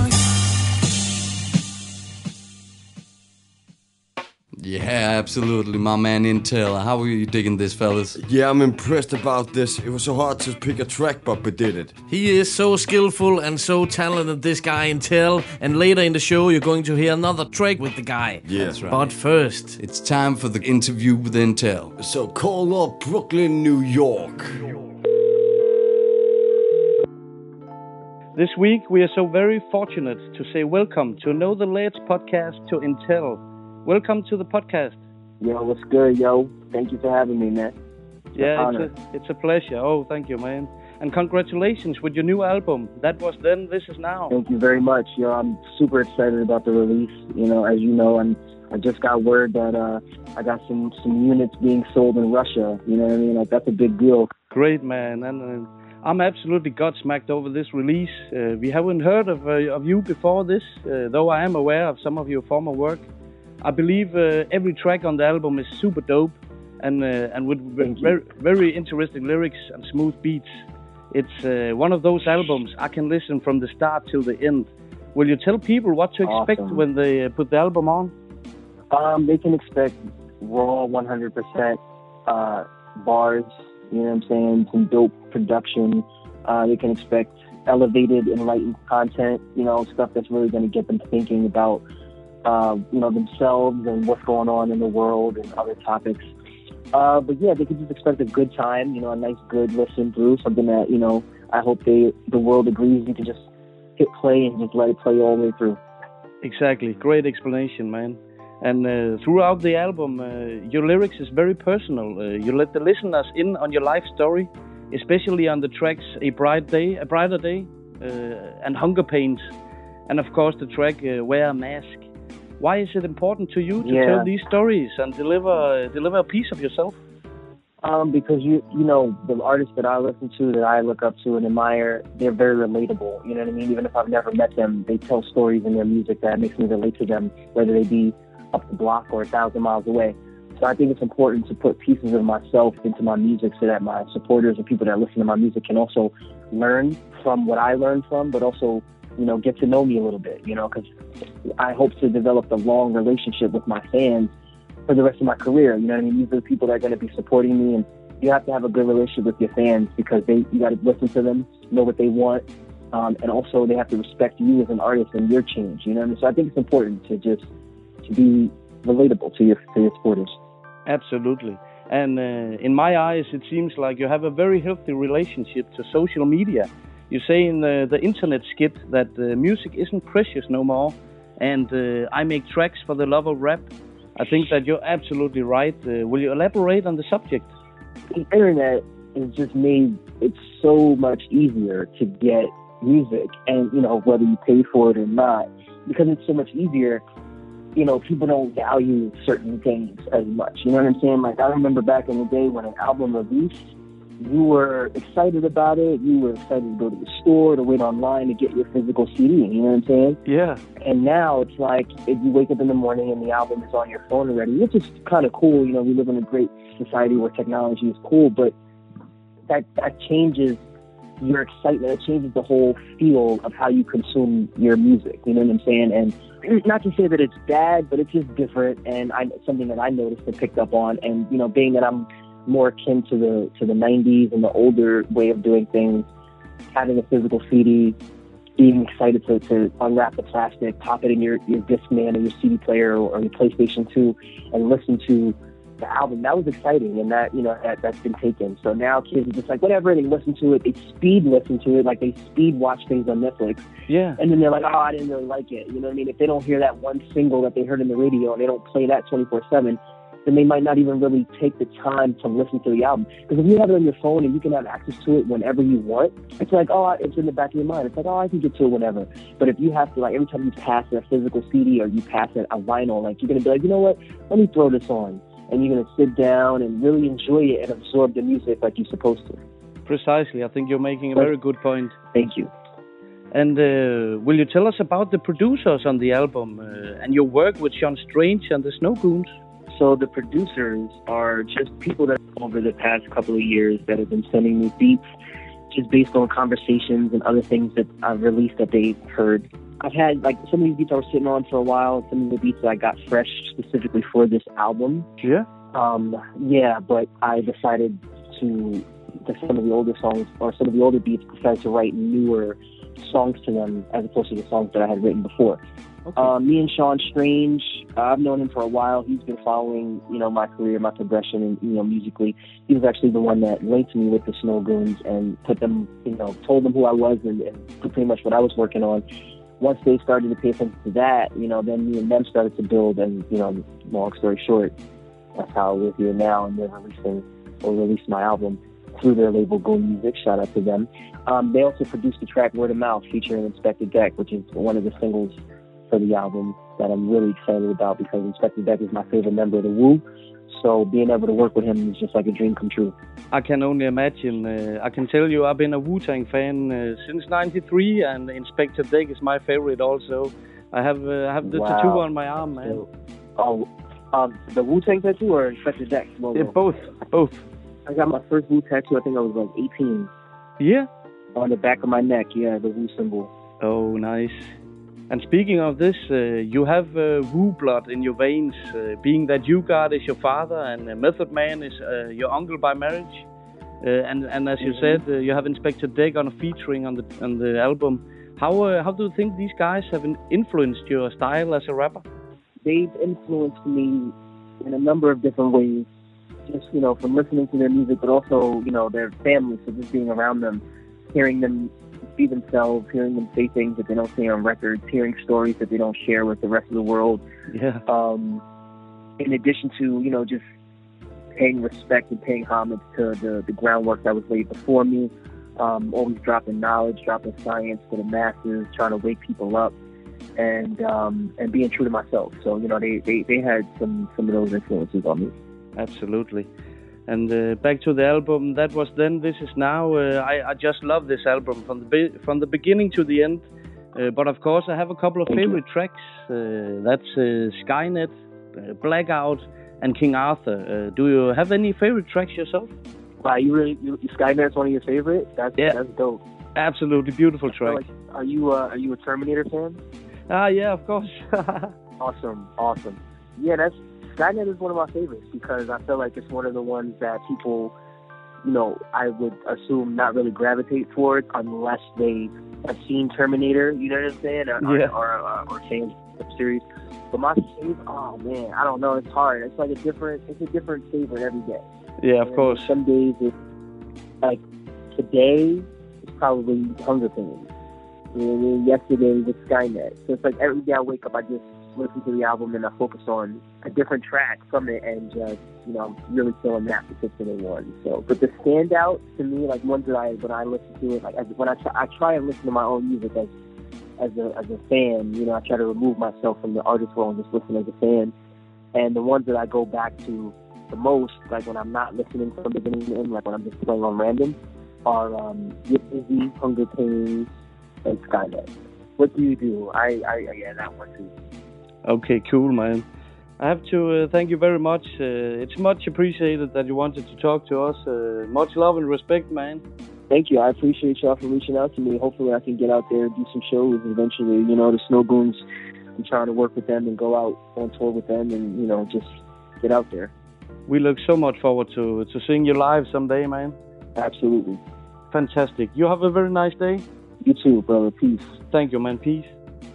C: Yeah, absolutely, my man Intel. How are you digging this, fellas?
E: Yeah, I'm impressed about this. It was so hard to pick a track, but we did it.
D: He is so skillful and so talented, this guy Intel. And later in the show, you're going to hear another track with the guy.
E: Yeah, that's right.
D: But first,
C: it's time for the interview with Intel.
E: So call up Brooklyn, New York.
R: This week, we are so very fortunate to say welcome to Know the Ledge podcast to Intel. Welcome to the podcast.
S: Yo, what's good, yo? Thank you for having me, man. It's
R: yeah, it's a, it's a pleasure. Oh, thank you, man. And congratulations with your new album. That Was Then, This Is Now.
S: Thank you very much. Yo, I'm super excited about the release. You know, as you know, I'm, I just got word that uh, I got some, some units being sold in Russia. You know what I mean? Like, that's a big deal.
R: Great, man. And uh, I'm absolutely gobsmacked over this release. Uh, we haven't heard of, uh, of you before this, uh, though I am aware of some of your former work. I believe uh, every track on the album is super dope and uh, and with very, very interesting lyrics and smooth beats. It's uh, one of those albums I can listen from the start till the end. Will you tell people what to expect
S: Awesome.
R: when they uh, put the album on?
S: Um, they can expect raw one hundred percent uh, bars, you know what I'm saying, some dope production. Uh, they can expect elevated, enlightened content, you know, stuff that's really going to get them thinking about Uh, you know, themselves and what's going on in the world and other topics. Uh, but yeah, they can just expect a good time, you know, a nice, good listen through, something that, you know, I hope they, the world agrees you can just hit play and just let it play all the way through.
R: Exactly. Great explanation, man. And uh, throughout the album, uh, your lyrics is very personal. Uh, you let the listeners in on your life story, especially on the tracks "A Bright Day," "A Brighter Day," uh, and "Hunger Pains," and of course the track uh, "Wear a Mask." Why is it important to you to
S: Yeah.
R: tell these stories and deliver uh, deliver a piece of yourself?
S: Um, because you you know, the artists that I listen to, that I look up to and admire, they're very relatable. You know what I mean? Even if I've never met them, they tell stories in their music that makes me relate to them, whether they be up the block or a thousand miles away. So I think it's important to put pieces of myself into my music so that my supporters and people that listen to my music can also learn from what I learned from, but also, you know, get to know me a little bit, you know, because I hope to develop a long relationship with my fans for the rest of my career. You know what I mean? These are the people that are going to be supporting me, and you have to have a good relationship with your fans because they you got to listen to them, know what they want, um, and also they have to respect you as an artist and your change. You know what I mean? So I think it's important to just to be relatable to your to your supporters.
R: Absolutely. And uh, in my eyes, it seems like you have a very healthy relationship to social media. You say in the, the internet skit that uh, music isn't precious no more, and uh, I make tracks for the love of rap. I think that you're absolutely right. Uh, will you elaborate on the subject?
S: The internet has just made it so much easier to get music, and you know, whether you pay for it or not, because it's so much easier. You know, people don't value certain things as much. You know what I'm saying? Like, I remember back in the day when an album released, you were excited about it. You were excited to go to the store, to wait online to get your physical C D. You know what I'm saying?
R: Yeah.
S: And now it's like, if you wake up in the morning and the album is on your phone already, which is kind of cool. You know, we live in a great society where technology is cool, but that, that changes your excitement. It changes the whole feel of how you consume your music. You know what I'm saying? And not to say that it's bad, but it's just different, and I, something that I noticed and picked up on. And you know, being that I'm more akin to the to the nineties and the older way of doing things, having a physical C D, being excited to, to unwrap the plastic, pop it in your, your Discman or your C D player or, or your PlayStation two, and listen to the album, that was exciting, and that, you know, that, that's been taken. So now kids are just like, whatever, they listen to it, they speed listen to it, like they speed watch things on Netflix.
R: Yeah.
S: And then they're like, oh, I didn't really like it. You know what I mean? If they don't hear that one single that they heard in the radio and they don't play that twenty-four seven, then they might not even really take the time to listen to the album. Because if you have it on your phone and you can have access to it whenever you want, it's like, oh, it's in the back of your mind. It's like, oh, I can get to it whenever. But if you have to, like, every time you pass a physical C D or you pass a, a vinyl, like, you're going to be like, you know what, let me throw this on. And you're going to sit down and really enjoy it and absorb the music like you're supposed to.
R: Precisely. I think you're making a very good point.
S: Thank you.
R: And uh, will you tell us about the producers on the album uh, and your work with Sean Strange and the Snow Goons?
S: So the producers are just people that over the past couple of years that have been sending me beats just based on conversations and other things that I've released that they've heard. I've had, like, some of these beats I was sitting on for a while, some of the beats that I got fresh specifically for this album.
R: Yeah?
S: Um, yeah, but I decided to, to some of the older songs, or some of the older beats, decided to write newer songs to them as opposed to the songs that I had written before.
R: Okay.
S: Uh, me and Sean Strange, uh, I've known him for a while. He's been following, you know, my career, my progression, and, you know, musically. He was actually the one that linked me with the Snow Goons and put them, you know, told them who I was and, and pretty much what I was working on. Once they started to pay attention to that, you know, then me and them started to build, and, you know, long story short, that's how we're here now, and they're releasing, or released my album through their label, Goon Music. Shout out to them. Um, they also produced the track Word of Mouth featuring Inspector Deck, which is one of the singles for the album that I'm really excited about because Inspector Deck is my favorite member of the Wu. So being able to work with him is just like a dream come true.
R: I can only imagine. Uh, I can tell you I've been a Wu-Tang fan uh, since ninety-three, and Inspector Deck is my favorite also. I have uh, I have the
S: Wow.
R: tattoo on my arm, man.
S: Oh, um, the Wu-Tang tattoo or Inspector Deck logo?
R: Yeah, both, both.
S: I got my first Wu tattoo, I think I was like eighteen.
R: Yeah?
S: On the back of my neck, yeah, the Wu symbol.
R: Oh, nice. And speaking of this, uh, you have uh, Wu blood in your veins, uh, being that U-God is your father and uh, Method Man is uh, your uncle by marriage. Uh, and and as you
S: Mhm.
R: said, uh, you have Inspector Deck on a featuring on the on the album. How uh, how do you think these guys have in- influenced your style as a rapper?
S: They've influenced me in a number of different ways. Just, you know, from listening to their music, but also, you know, their family, so just being around them, hearing them be themselves, hearing them say things that they don't say on records, hearing stories that they don't share with the rest of the world.
R: Yeah.
S: Um, in addition to, you know, just paying respect and paying homage to the, the groundwork that was laid before me, um, always dropping knowledge, dropping science to the masses, trying to wake people up, and um, and being true to myself. So, you know, they, they, they had some, some of those influences on me.
R: Absolutely. And uh, back to the album, That Was Then, This Is Now. Uh, I, I just love this album from the be- from the beginning to the end. Uh, but of course, I have a couple of
S: Thank
R: favorite
S: you.
R: tracks. Uh, that's uh, Skynet, uh, Blackout, and King Arthur. Uh, do you have any favorite tracks yourself?
S: Wow, you really you, Skynet's one of your favorites? That's
R: Yeah.
S: that's dope.
R: Absolutely beautiful track.
S: Like, are you uh, are you a Terminator fan?
R: Ah, yeah, of course.
S: Awesome, awesome. Yeah, that's Skynet is one of my favorites because I feel like it's one of the ones that people, you know, I would assume not really gravitate towards unless they have seen Terminator. You know what I'm saying? Or,
R: Yeah.
S: or, or, or fans of the series. But my favorite, oh man, I don't know. It's hard. It's like a different. It's a different favorite every day.
R: Yeah, of
S: And
R: course.
S: Some days it's like today it's probably Hunger Games. You know what I mean? Yesterday was Skynet. So it's like every day I wake up, I just listen to the album and I focus on a different track from it, and just, you know, I'm really feeling that particular one. So, but the standout to me, like ones that I when I listen to it, like as, when I try, I try and listen to my own music as as a as a fan. You know, I try to remove myself from the artist role and just listen as a fan. And the ones that I go back to the most, like when I'm not listening from the beginning to end, like when I'm just playing on random, are um, Get Busy, Hunger Games, and Skynet. What do you do? I, I, yeah, that one too.
R: Okay, cool, man. I have to uh, thank you very much. Uh, it's much appreciated that you wanted to talk to us. Uh, much love and respect, man.
S: Thank you. I appreciate y'all for reaching out to me. Hopefully I can get out there and do some shows eventually. You know, the Snow Goons, I'm trying to work with them and go out on tour with them and, you know, just get out there.
R: We look so much forward to, to seeing you live someday, man.
S: Absolutely.
R: Fantastic. You have a very nice day.
S: You too, brother. Peace.
R: Thank you, man. Peace.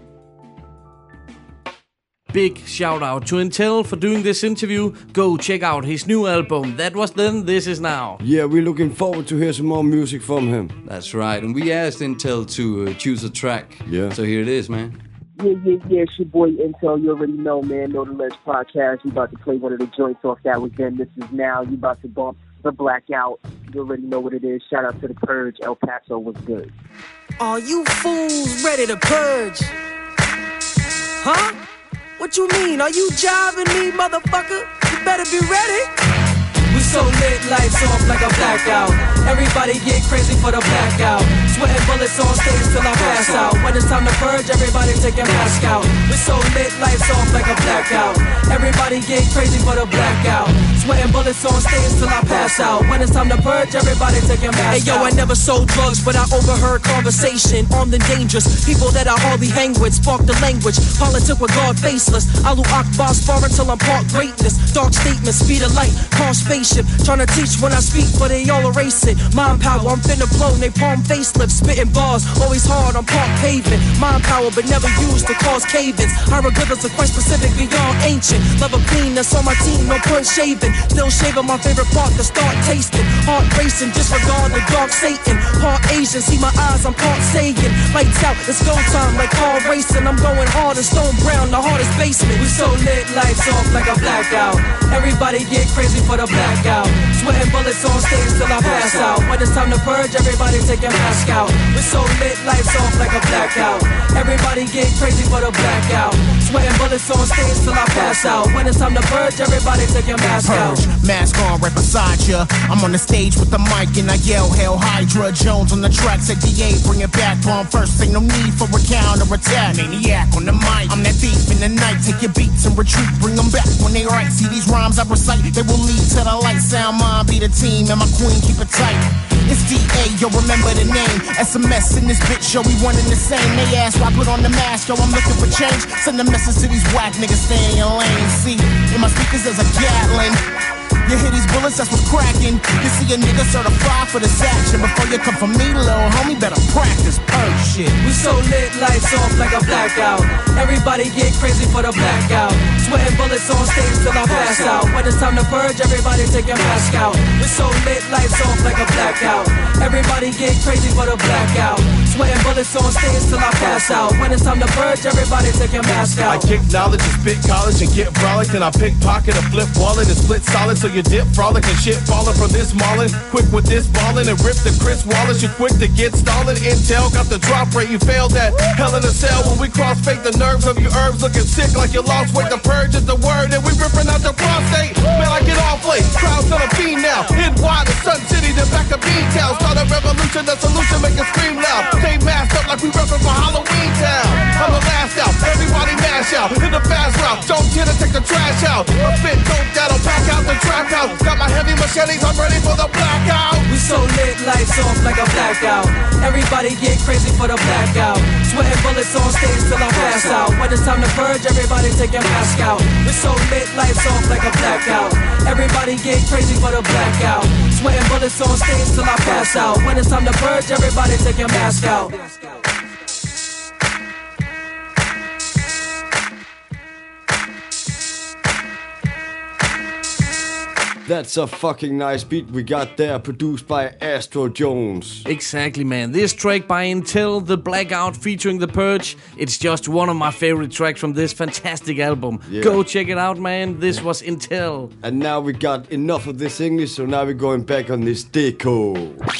D: Big shout out to Intel for doing this interview. Go check out his new album. That Was Then, This Is Now.
E: Yeah, we're looking forward to hear some more music from him.
C: That's right. And we asked Intel to uh, choose a track.
E: Yeah.
C: So here it is, man.
S: Yeah, yeah, yeah. It's your boy Intel. You already know, man. Know the Ledge Podcast. We about to play one of the joints off That Was Then, This Is Now. You about to bump the Blackout. You already know what it is. Shout out to the Purge. El Paso was good.
P: Are you fools ready to purge? Huh? What you mean? Are you jiving me, motherfucker? You better be ready. We so lit, lights off like a blackout. Everybody get crazy for the blackout. Sweating bullets on stage till I pass out. When it's time to purge, everybody take a mask out. We so lit, lights off like a blackout. Everybody get crazy for the blackout. Sweating bullets on stage till I pass out. When it's time to purge, everybody take a mask out. Hey yo, I never sold drugs, but I overheard conversation. Armed and dangerous, people that I hardly hang with. Spark the language, politic with God faceless. Alu Akbar sparring till I'm part greatness. Dark statements, speed of light, car spaceship. Trying to teach when I speak, but they all erase it. Mind power, I'm finna blow, they palm facelift. Spitting bars, always hard on park pavement. Mind power, but never used to cause cave-ins. Hieroglyphics are quite specific, beyond ancient. Love a queen that's on my team, no point shaving. Still shaving my favorite part to start tasting. Heart racing, disregard the dark Satan. Part Asian, see my eyes, I'm part saying. Lights out, it's go time like car racing. I'm going hard as Stone Brown, the hardest basement. We so lit, lights off like a blackout. Everybody get crazy for the blackout. Sweating bullets on stage till I pass out. When it's time to purge, everybody take your mask out. We so lit, lights off like a blackout. Everybody get crazy for the blackout. Sweating bullets on stage till I pass out. When it's time to purge, everybody take your mask out.
T: Mask on right beside ya. I'm on the stage with the mic and I yell Hell Hydra. Jones on the track said D A bring it back. Bomb first, ain't no need for a counter attack. Maniac on the mic, I'm that thief in the night. Take your beats and retreat, bring them back when they right. See these rhymes I recite, they will lead to the light. Sound mine be the team and my queen keep it tight. It's D A, yo, remember the name. S M S in this bitch, yo, we one in the same. They ask why I put on the mask, yo, I'm looking for change. Send a message to these whack niggas, stay in your lane. See, in my speakers there's a Gatling. You hear these bullets, that's what's cracking. You see a nigga certified for this action. Before you come for me, little homie, better practice purge shit.
P: We so lit, lights off like a blackout. Everybody get crazy for the blackout. Sweating bullets on stage till I pass out. When
U: When it's time to purge, everybody take your mask out. We're so lit, lights off like a blackout. Everybody get crazy for the blackout. Sweating bullets on stage till I pass out. When it's time to purge, everybody take your mask out.
V: I kick knowledge and spit college and get frolic. And I pickpocket a flip wallet and split solid. So you dip frolic and shit falling from this mauling. Quick with this ballin' and rip the Chris Wallace. You quick to get stallin'. Intel got the drop rate. You failed that hell in a cell. When we cross fake the nerves of your herbs looking sick like you lost weight. The purge is the word and we ripping out your prostate. Man, I get off late. Crowds on a fiend now. Hit wide in Sun City, then back to Bean Town. Start a revolution, the solution make it scream loud. Stay masked up like we reppin' for Halloween Town. I'm the last out, everybody mash out. Hit the fast route, don't get to take the trash out. I spit dope that'll pack out the trap house. Got my heavy machetes, I'm ready for the blackout.
U: We so lit, lights off like a blackout. Everybody get crazy for the blackout. Sweating bullets on stage till I pass out. When it's time to purge, everybody take your mask out. We so lit, lights off like a blackout. Everybody get crazy for the blackout. Sweating bullets on stage till I pass out. When it's time to purge, everybody take your mask out.
E: That's a fucking nice beat we got there, produced by Astro Jones.
D: Exactly, man. This track by Intel, The Blackout, featuring The Purge. It's just one of my favorite tracks from this fantastic album. Yeah. Go check it out, man. This was Intel.
E: And now we got enough of this English, so now we're going back on this deco.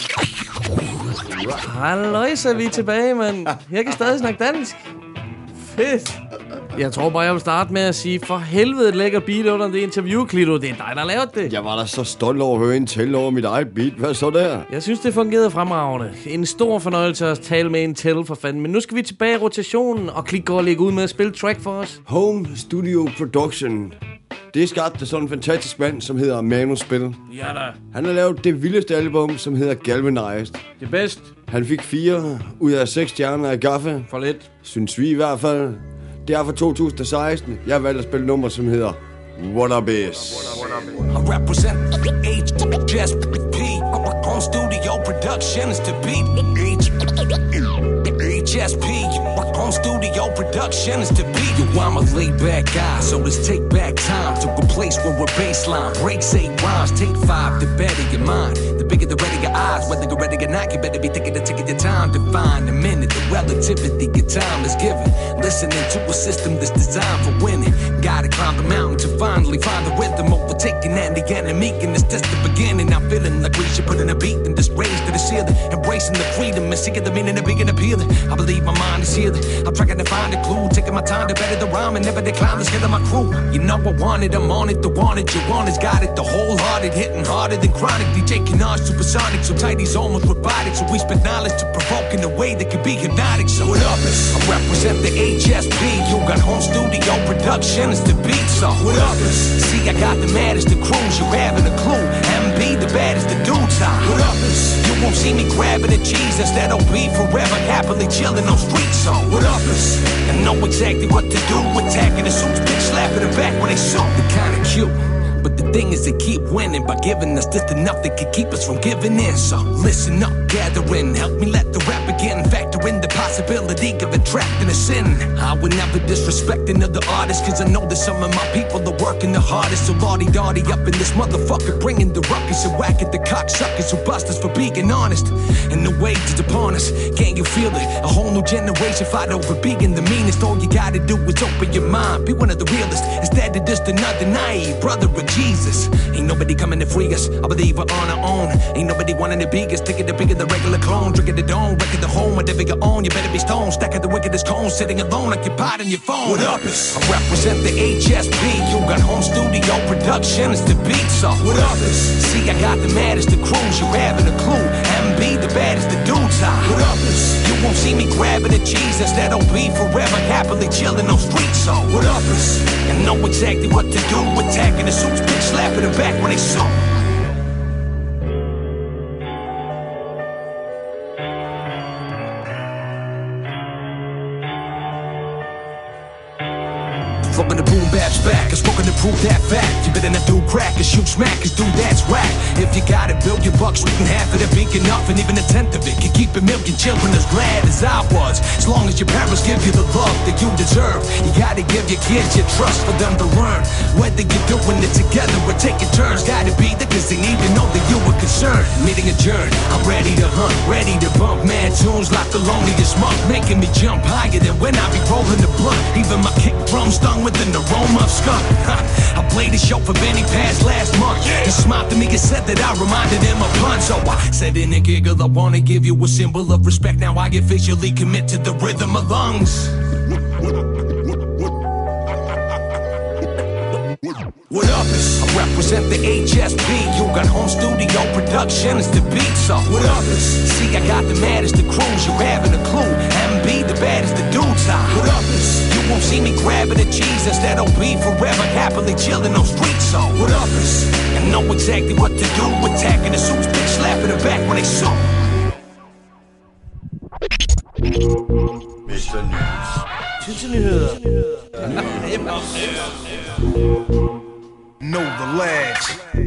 D: Halløjsa, vi er tilbage, men jeg kan stadig snakke dansk. Fedt. Jeg tror bare, jeg vil starte med at sige, for helvede et lækker beat under det interview, Klito. Det er dig, der lavede det.
E: Jeg var da så stolt over at høre Intel over mit eget beat. Hvad så der?
D: Jeg synes, det fungerede fremragende. En stor fornøjelse at tale med Intel for fanden. Men nu skal vi tilbage i rotationen, og Klik går og lægge ud med at spille track for os.
E: Home Studio Production. Det skabte sådan en fantastisk mand, som hedder Manu Spil.
D: Ja da.
E: Han har lavet det vildeste album, som hedder Galvanized.
D: Det bedst.
E: Han fik fire ud af seks stjerner af Gaffa.
D: For lidt.
E: Synes vi i hvert fald. Det er fra to tusind og seksten. Jeg har valgt at spille nummer, som hedder Wannabes.
J: I represent H S P. Home Studio Productions to beat H S P. Home Studio Productions to beat. Yo, I'm a laid back guy, so let's take back time to a place where a baseline breaks eight rhymes. Take five to better your mind. The bigger the red of your eyes, whether you're ready or not, you better be thinking to taking your time to find a minute. The relativity your time is given. Listening to a system that's designed for winning. Gotta climb the mountain to finally find the rhythm, overtaking and the enemy. And it's just the beginning. I'm feeling like we should put in a beat and just raise to the ceiling. Embracing the freedom and seeking the meaning of being appealing. I believe my mind is healing. I'm trying to find a clue, taking my time to better the rhyme and never decline the skill of my crew. You know I want it, I'm on it, the want it, you want it's got it, the wholehearted, hitting harder than chronic. D J Kennard, supersonic, so tight he's almost robotic. So we spit knowledge to provoke in a way that can be hypnotic. So what up is, I represent the H S P. You got Home Studio Productions to beat. So what up is, see I got the maddest the crews, you having a clue. M B the baddest the dudes time. What up is, you won't see me grabbing the cheese, instead I'll be forever happily chilling on streets. So what up is, I know exactly what to do, attacking the suits, bitch slapping the back when they shoot. The kind of cute. But the thing is to keep winning by giving us just enough that could keep us from giving in. So listen up, gather in, help me let the rap begin. Factor in the possibility of attracting a sin. I would never disrespect another artist, cause I know that some of my people are working the hardest. So lardy-dardy up in this motherfucker, bringing the ruckus and whack at the cocksuckers who bust us for being honest. And the wage is upon us, can't you feel it? A whole new generation fight over being the meanest. All you gotta do is open your mind, be one of the realest, instead of just another naive brother of Jesus. Ain't nobody coming to free us, I believe we're on our own. Ain't nobody wanting to be us, taking the bigger the regular clone. Drinking the dome, wrecking the home, whatever you own. You better be stoned, stacking the wickedest cone, sitting alone occupied on your phone. What up is, I represent the H S P. You got Home Studio Productions to beat. So what up is, see I got the maddest the crews, you having a clue. M B the baddest the dudes time. What up is, you won't see me grabbing the cheese, instead I'll be forever happily chilling on streets. So what up is, I know exactly what to do, attacking the suits, bitch slapping the back when they shoot. Fucking the boom bap's back. I spoken to prove that fact. You better not do crack or shoot smack, cause dude, that's whack. If you got a billion bucks, we can half of it be enough, and even a tenth of it can keep a million children as glad as I was. As long as your parents give you the love that you deserve, you gotta give your kids your trust for them to learn. Whether you're doing it together or taking turns, gotta be there cause they need to know that you were concerned. Meeting adjourned, I'm ready to hunt, ready to bump mad tunes like the loneliest monk, making me jump higher than when I be rolling the blunt. Even my kick drum stung with an aroma of skunk. I played the show for Benny Pass last month. He smiled to me and said that I reminded him of pun. So I said in a giggle, I wanna give you a symbol of respect. Now I officially commit to the rhythm of lungs. What up is I represent the H S P. You got home studio production is the beat. So what up is see I got the maddest the crews. You having a clue? M B the baddest the dudes. What up is you won't see me grabbing the cheese. Instead I'll be forever happily chilling on streets. So what up is I know exactly what to do. Attacking the suits, bitch slapping the back when they sue.
A: mister News.
D: Tidsnyheder.
J: Know the lads.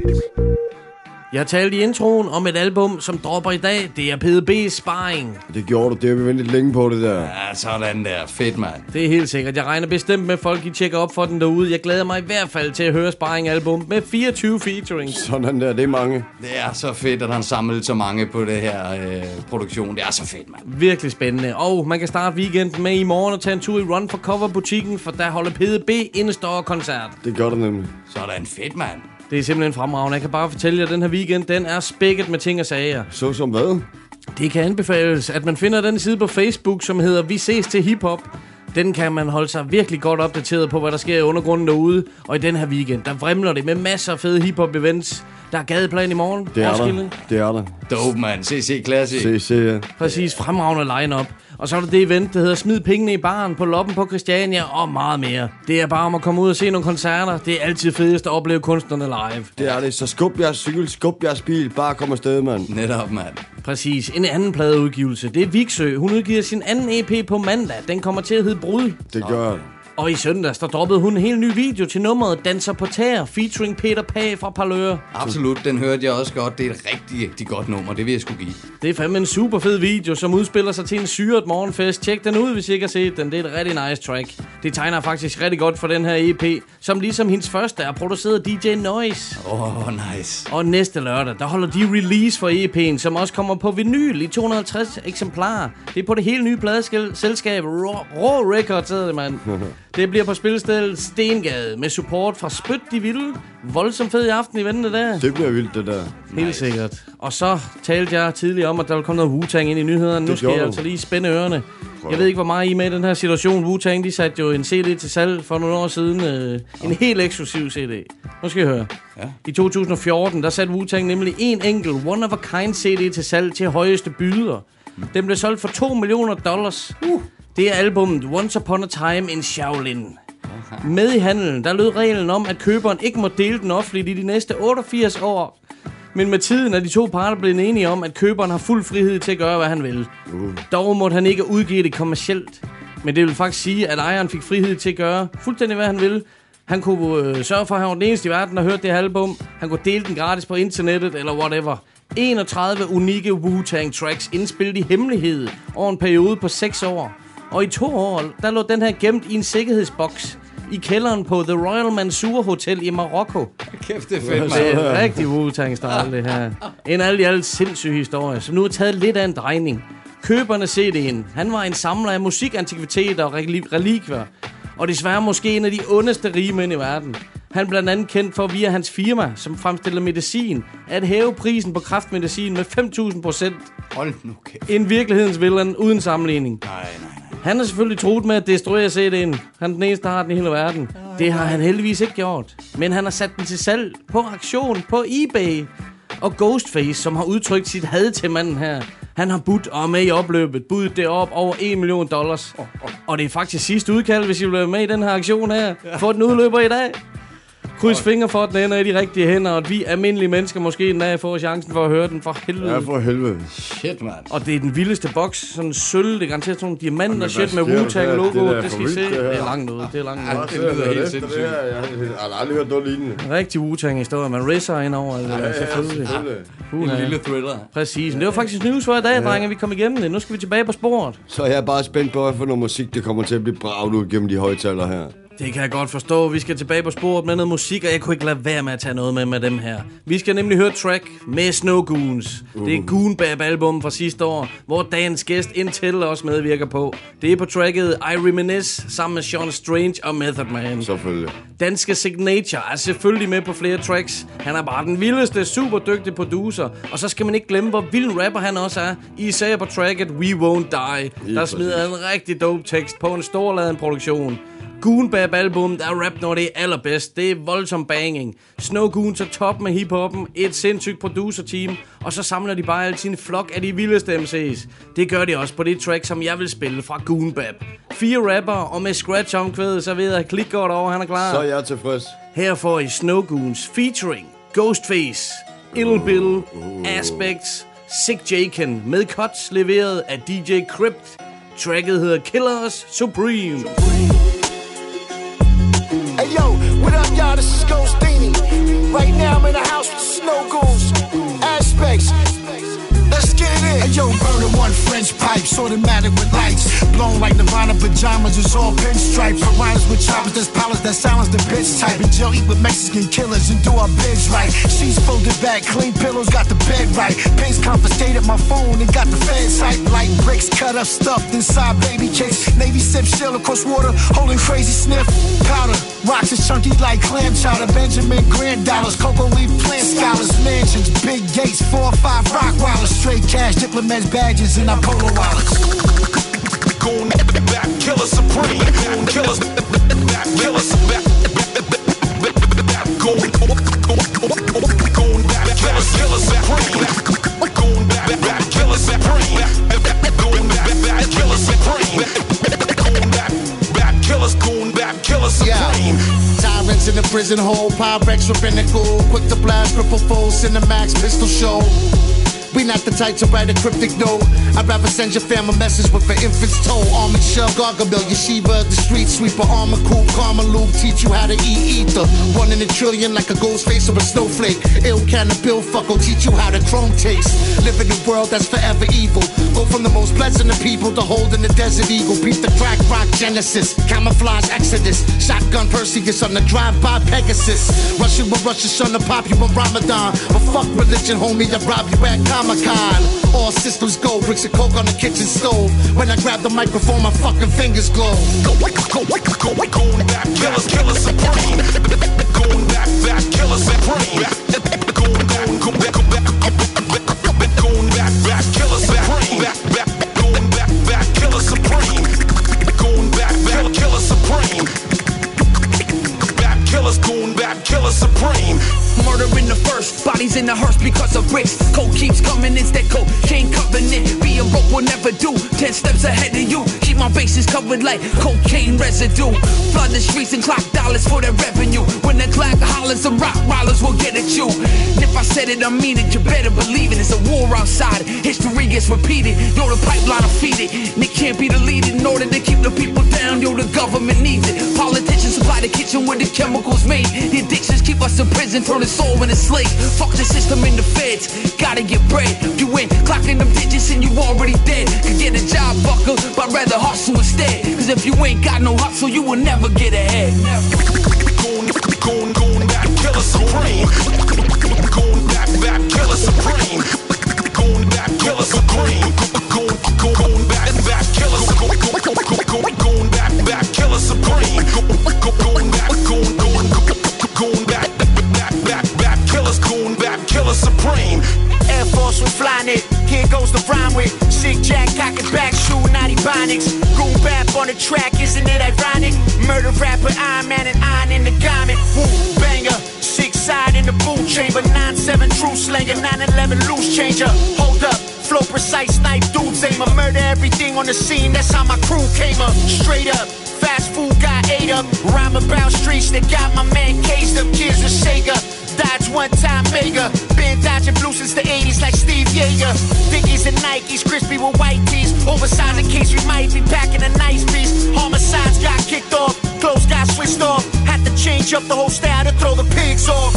D: Jeg talte i introen om et album, som dropper i dag. Det er P D B's Sparring.
E: Det gjorde du. Det har vi ventet længe på, det der.
C: Ja, sådan der. Fedt, mand.
D: Det er helt sikkert. Jeg regner bestemt med, at folk I tjekker op for den derude. Jeg glæder mig i hvert fald til at høre Sparring-album med fireogtyve featurings.
E: Sådan der. Det er mange.
C: Det er så fedt, at han samlede så mange på det her øh, produktion. Det er så fedt, mand.
D: Virkelig spændende. Og man kan starte weekenden med i morgen og tage en tur i Run for Cover-butikken, for der holder P D B indestår-koncert.
E: Det gør det nemlig.
C: Sådan fedt, mand.
D: Det er simpelthen fremragende. Jeg kan bare fortælle jer, at den her weekend, den er spækket med ting og sager.
E: Så som hvad?
D: Det kan anbefales, at man finder den side på Facebook, som hedder Vi ses til hiphop. Den kan man holde sig virkelig godt opdateret på, hvad der sker i undergrunden derude. Og i den her weekend, der vrimler det med masser af fede hiphop-events. Der er gadeplan i morgen.
E: Det er der. Det er der.
C: Dope, man. C C Classic.
E: C C, ja.
D: Præcis, fremragende line-up. Og så er der det event, der hedder Smid pengene i baren på Loppen på Christiania og meget mere. Det er bare om at komme ud og se nogle koncerter. Det er altid fedest at opleve kunstnerne live.
E: Det er det. Så skub jeres cykel, skub jeres bil. Bare kom afsted, mand.
C: Netop, mand.
D: Præcis. En anden pladeudgivelse. Det er Viksø. Hun udgiver sin anden E P på mandag. Den kommer til at hedde Brud.
E: Det gør det.
D: Og i søndags, der droppede hun en helt ny video til nummeret Danser på tæer, featuring Peter Pag fra Parlør.
C: Absolut, den hørte jeg også godt. Det er et rigtig, rigtig godt nummer, det vil jeg sgu give.
D: Det er fandme en super fed video, som udspiller sig til en syret morgenfest. Tjek den ud, hvis I ikke har set den. Det er et rigtig nice track. Det tegner faktisk rigtig godt for den her E P, som ligesom hendes første er produceret af D J Noise.
C: Åh, oh, nice.
D: Og næste lørdag, der holder de release for E P'en, som også kommer på vinyl i to hundrede og halvtreds eksemplarer. Det er på det helt nye pladeselskab Raw, Raw Records, hedder det, mand. Det bliver på spilstedet Stengade med support fra Spyt de Vilde. Voldsomt fed i aften i vente der.
E: Det bliver vildt, det der.
D: Helt nice. Sikkert. Og så talte jeg tidligere om, at der vil komme noget Wu-Tang ind i nyhederne. Nu skal jeg altså lige spænde ørerne. Prøv. Jeg ved ikke, hvor meget I er med i den her situation. Wu-Tang, de satte jo en C D til salg for nogle år siden. Øh, en helt eksklusiv C D. Nu skal I høre. Ja. I to tusind og fjorten, der satte Wu-Tang nemlig en enkelt One of a Kind C D til salg til højeste byder. Mm. Den blev solgt for to millioner dollars. Uh. Det er albumet Once Upon a Time in Shaolin. Okay. Med i handelen, der lød reglen om, at køberen ikke må dele den offentligt i de næste otteogfirs år. Men med tiden er de to parter blevet enige om, at køberen har fuld frihed til at gøre, hvad han vil. Uh. Dog måtte han ikke udgive det kommercielt. Men det vil faktisk sige, at ejeren fik frihed til at gøre fuldstændig, hvad han ville. Han kunne øh, sørge for, at han var den eneste i verden, der hørte det her album. Han kunne dele den gratis på internettet eller whatever. enogtredive unikke Wu-Tang tracks indspillet i hemmelighed over en periode på seks år. Og i to år, der lå den her gemt i en sikkerhedsboks i kælderen på The Royal Mansour Hotel i Marokko.
C: Kæft, det er fedt, man.
D: Det er en rigtig Wu-Tang-style, det her. En alt i alt sindssyg historie, som nu er taget lidt af en drejning. Køberne C D'en. Han var en samler af musikantikviteter og relikvier. Og desværre måske en af de ondeste rige mænd i verden. Han er blandt andet kendt for via hans firma, som fremstiller medicin, at hæve prisen på kræftmedicin med fem tusind procent.
C: Hold nu kæft.
D: En virkelighedens villain uden sammenligning.
C: Nej, nej, nej.
D: Han har selvfølgelig troet med at destruere C D'en. Han er den eneste, der har den i hele verden. Det har han heldigvis ikke gjort. Men han har sat den til salg på auktion på eBay. Og Ghostface, som har udtrykt sit had til manden her, han har budt og er med i opløbet. Budet det op over en million dollars. Oh, oh. Og det er faktisk sidste udkald, hvis I vil være med i den her aktion her. Få den udløber i dag. Kryds fingre for, at den ender i de rigtige hænder, og at vi almindelige mennesker måske endda får chancen for at høre den for helvede.
E: Ja, for helvede.
C: Shit, mand.
D: Og det er den vildeste boks, sådan en sølv, det er garanteret sådan nogle diamanter shit med Wu-Tang-logo. Det, det skal I se. Det er langt ud, det er langt ud.
E: Ja, det lyder helt sindssygt. Jeg har aldrig hørt noget lignende.
D: Rigtig Wu-Tang-historie, man risser ind over det der, selvfølgelig.
C: En lille thriller.
D: Præcis, det var faktisk news for i dag, drenge, vi kom igennem det. Nu skal vi tilbage på sporet.
E: Så jeg er bare spændt på, hvad for noget musik, det kommer til at blive braget ud gennem de højtaler her.
D: Det kan jeg godt forstå. Vi skal tilbage på sporet med noget musik, og jeg kunne ikke lade være med at tage noget med med dem her. Vi skal nemlig høre track med Snow Goons. Uh. Det er Goon Bap-album fra sidste år, hvor dagens gæst Intel også medvirker på. Det er på tracket I Reminisce sammen med Sean Strange og Method Man.
E: Selvfølgelig.
D: Danske Signature er selvfølgelig med på flere tracks. Han er bare den vildeste, super dygtige producer. Og så skal man ikke glemme, hvor vild rapper han også er. Især på tracket We Won't Die. Der smider en rigtig dope tekst på en storladen produktion. Goon Bap album, der er rap, når det er allerbedst. Det er voldsom banging. Snow Goons er top med hiphoppen, et sindssygt producer-team, og så samler de bare altid en flok af de vildeste M C's. Det gør de også på det track, som jeg vil spille fra Goon Bap. Fire rapper, og med scratch-omkvædet, så ved jeg, at klik godt over, han er klar.
E: Så er jeg tilfreds.
D: Her får I Snow Goons featuring Ghostface, Ill Bill, uh. Aspects, Sick Jaken med cuts leveret af D J Crypt. Tracket hedder Killers Supreme.
A: Hey yo, what up y'all, this is Ghostini. Right now I'm in the house with the Snow Goons, Aspects. Let's get it in. Hey yo, burner one French pipes, automatic with lights. Blown like Nirvana pajamas, it's all pinstripes. Piranhas with choppers, there's pilots that silence the bitch type. And Jill eat with Mexican killers and do our bids right. She's folded back, clean pillows, got the bed right. Pace confiscated my phone and got the feds hype. Light bricks cut up, stuffed inside baby cakes. Navy sip, shell across water, holding crazy sniff. Powder, rocks is chunky like clam chowder. Benjamin Grand dollars, cocoa leaf plant scholars. Mansions, big gates, four or five rock wallers. Straight cash, diplomats, badges, and our polo wallets.
J: Goon Bap, Killer Supreme. Killers Bap, Killers Bap. Goon Goon Bap, Killers Killer Supreme. Goon Bap, Killer Supreme. Goon Bap, Killer Supreme. Goon Bap, Killers, Goon Bap, Killer Supreme.
A: Tyrants in the prison hole, Pyrex for pinnacle. Quick to blast, triple full, Cinemax, pistol show. We not the type to write a cryptic note. I'd rather send your fam a message with an infant's toe. Armored shell, Gargamel, Yeshiva, the street sweeper. Armor coupe, karma loop, teach you how to eat ether. One in a trillion like a ghost face or a snowflake. Ill can of bill fuck will teach you how to chrome taste. Live in a world that's forever evil. Go from the most pleasant of people to holding the desert eagle. Beat the crack rock genesis. Camouflage exodus. Shotgun Perseus on the drive-by Pegasus. Russian will rush your son to pop you on Ramadan. But fuck religion, homie, I rob you at Comic-Con. All systems go, bricks of coke on the kitchen stove. When I grab the microphone, my fucking fingers glow.
J: Goon Bap, Killers, Killer Supreme. Goon Bap, Bap, Killer Supreme. Goon, goon, goon, goon, goon Bap, Bap, Killer Supreme. Goon Bap, Bap, Killer Supreme. Goon Bap, Bap, Killer Supreme. Bap Killers, Goon Bap, Killer Supreme.
B: Murder in the first, bodies in the hearse because of bricks. Coke keeps coming, it's that cocaine covenant. Being broke will never do, ten steps ahead of you. Keep my bases covered like cocaine residue. Flood the streets and clock dollars for their revenue. When the clock hollers, and rock rollers will get at you. And if I said it, I mean it, you better believe it. It's a war outside, history gets repeated. Yo, the pipeline will feed it, and it can't be deleted. In order to keep the people down, yo, the government needs it. Politicians supply the kitchen where the chemicals made. The addictions keep us in prison, turn the soul into slaves. Fuck the system in the feds, gotta get bread. You ain't clocking them digits and you already dead. Could get a job, fucker, but rather hustle instead. Cause if you ain't got no hustle, you will never get ahead.
J: Goon, goon, goon, Bap, Killer Supreme. Goon, Bap, Bap, Killer Supreme. Goon, Bap, Killer Supreme. Goon, goon, goon, Bap, Bap, Killer Supreme. Goon, Bap, Bap, Killer Supreme. Goon, Bap, goon, goon, goon, Bap, Bap, Bap, Killers, Goon Bap, Killer Supreme.
A: Air Force with Flynet, here goes the rhyme with Sick Jack, cock it back, shoe naughty Bonics. Goon Bap on the track, isn't it ironic? Murder rapper, Iron Man and iron in the garment. Woo, banger, six side in the boot chamber. nine seven true slanger, nine eleven loose changer. Hold up, flow precise, snipe dudes aim. I murder everything on the scene, that's how my crew came up. Straight up, fast food guy,
F: got ate up. Rhyme about streets that got my man caged up. Kids of Sega, Dodge one time mega. Been dodging blue since the eighties like Steve Yeager. Dickies and Nikes, crispy with white tees. Oversized in case we might be packing a nice piece. Homicides got kicked off, clothes got switched off. Had to change up the whole style to throw the pigs off.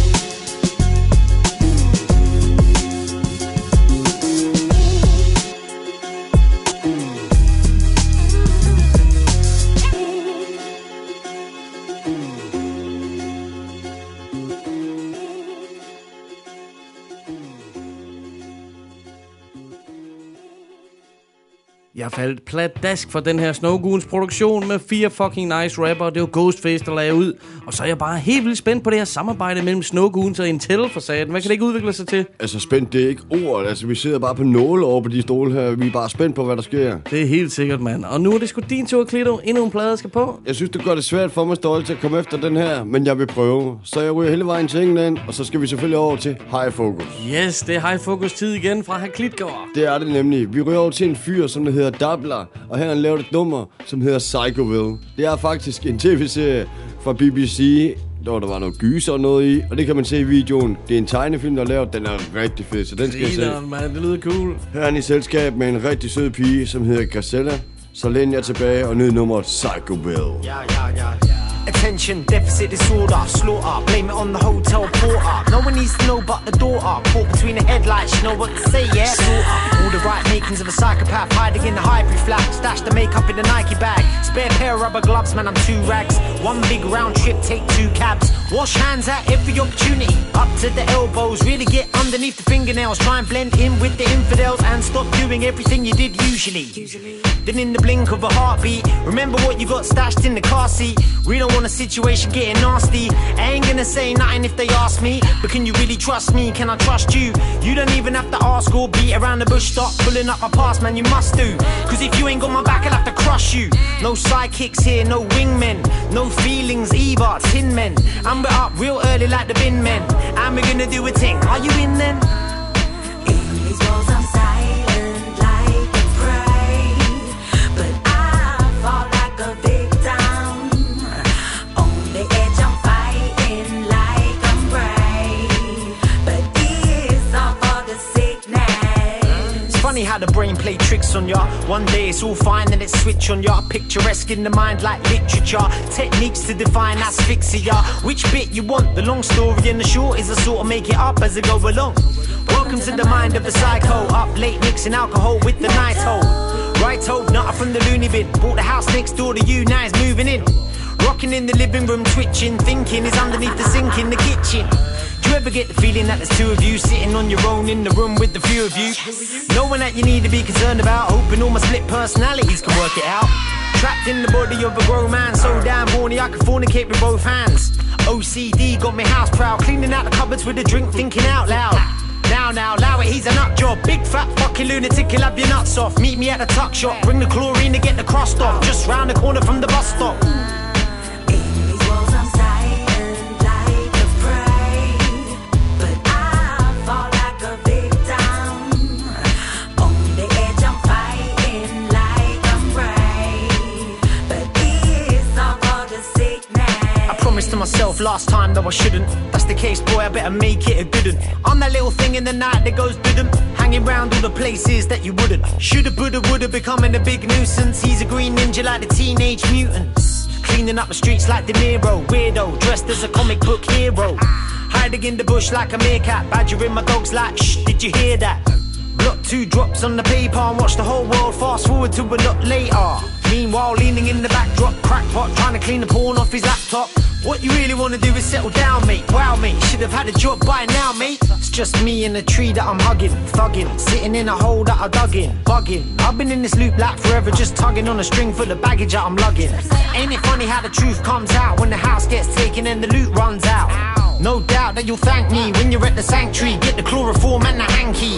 D: Jeg faldt pladask for den her Snowgoons produktion med fire fucking nice rapper. Det var Ghostface, der lagde ud. Og så er jeg bare helt vildt spændt på det her samarbejde mellem Snowgoons og Intel for satan. Hvad kan det ikke udvikle sig til?
E: Altså spændt, det er ikke ord. Altså vi sidder bare på nåle over på de stole her. Vi er bare spændt på, hvad der sker.
D: Det er helt sikkert, mand. Og nu er det sgu din tur, Klito. Endnu en plade skal på.
E: Jeg synes, det gør det svært for mig, Stolte, til at komme efter den her. Men jeg vil prøve. Så jeg ryger hele vejen til England. Og så skal vi selvfølgelig over til High Focus.
D: Yes, det er High Focus tid igen fra Herr Klitgaard.
E: Det er det nemlig. Vi ryger over til en fyr, som der hedder Dabla. Og her har han lavet et nummer, som hedder Psychoville. Det er faktisk en tv-serie fra B B C, hvor der var noget gyser og noget i. Og det kan man se i videoen. Det er en tegnefilm, der er lavet. Den er rigtig fed, så den skal jeg se.
D: Man, det lyder cool.
E: Her er han i selskab med en rigtig sød pige, som hedder Gazella. Så læn jeg tilbage og nyd nummeret Psychoville.
H: Ja, ja, ja. Attention, deficit disorder, slaughter, blame it on the hotel porter. No one needs to know but the daughter. Caught between the headlights, you know what to say, yeah? Sorta. All the right makings of a psychopath, hiding in the hybrid flat. Stash the makeup in the Nike bag. Spare pair of rubber gloves, man, I'm two rags. One big round trip, take two cabs. Wash hands at every opportunity. Up to the elbows, really get underneath the fingernails. Try and blend in with the infidels and stop doing everything you did usually. usually. Then in the blink of a heartbeat, remember what you got stashed in the car seat. We don't want a situation getting nasty. I ain't gonna say nothing if they ask me, but can you really trust me? Can I trust you? You don't even have to ask or beat around the bush. Stop pulling up my past, man, you must do. Cause if you ain't got my back, I'll have to crush you. No sidekicks here, no wingmen. No feelings either, tin men. I'm up real early like the bin men. And we're gonna do a thing, are you in then?
W: In these walls I'm silent like a prey, but I fall like a victim. On the edge I'm fighting like I'm brave, but it's all for the sickness.
H: It's funny how the brain play tricks on ya. One day it's all fine, then it switch on ya. Picturesque in the mind like literature. Techniques to define asphyxia. Which bit you want? The long story and the short is I sort of make it up as I go along. Welcome to the mind of the psycho. Up late mixing alcohol with the night hole. Right hold, nutter from the loony bin. Bought the house next door to you, now it's moving in. Rocking in the living room, twitching. Thinking is underneath the sink in the kitchen. Do you ever get the feeling that there's two of you sitting on your own in the room with the few of you? No one that you need to be concerned about. Hoping all my split personalities can work it out. Trapped in the body of a grown man, so damn horny I can fornicate with both hands. O C D got me house proud, cleaning out the cupboards with a drink, thinking out loud. Now, now, allow it, he's a nut job. Big fat fucking lunatic, he'll have your nuts off. Meet me at the tuck shop, bring the chlorine to get the crust off. Just round the corner from the bus stop. To myself last time though I shouldn't. That's the case, boy, I better make it a good one. I'm that little thing in the night that goes didn't. Hanging round all the places that you wouldn't. Shoulda, woulda, woulda, becoming a big nuisance. He's a green ninja like the Teenage Mutants. Cleaning up the streets like De Niro. Weirdo, dressed as a comic book hero. Hiding in the bush like a meerkat. Badgering my dogs like, shh, did you hear that? Block two drops on the paper and watch the whole world fast forward to a lot later. Meanwhile, leaning in the backdrop, crackpot, trying to clean the porn off his laptop. What you really wanna do is settle down, mate. Wow, mate, should have had a job by now, mate. It's just me in a tree that I'm hugging, thugging, sitting in a hole that I dug in, bugging. I've been in this loop like forever, just tugging on a string full of baggage that I'm lugging. Ain't it funny how the truth comes out when the house gets taken and the loot runs out? No doubt that you'll thank me when you're at the sanctuary. Get the chloroform and the hanky.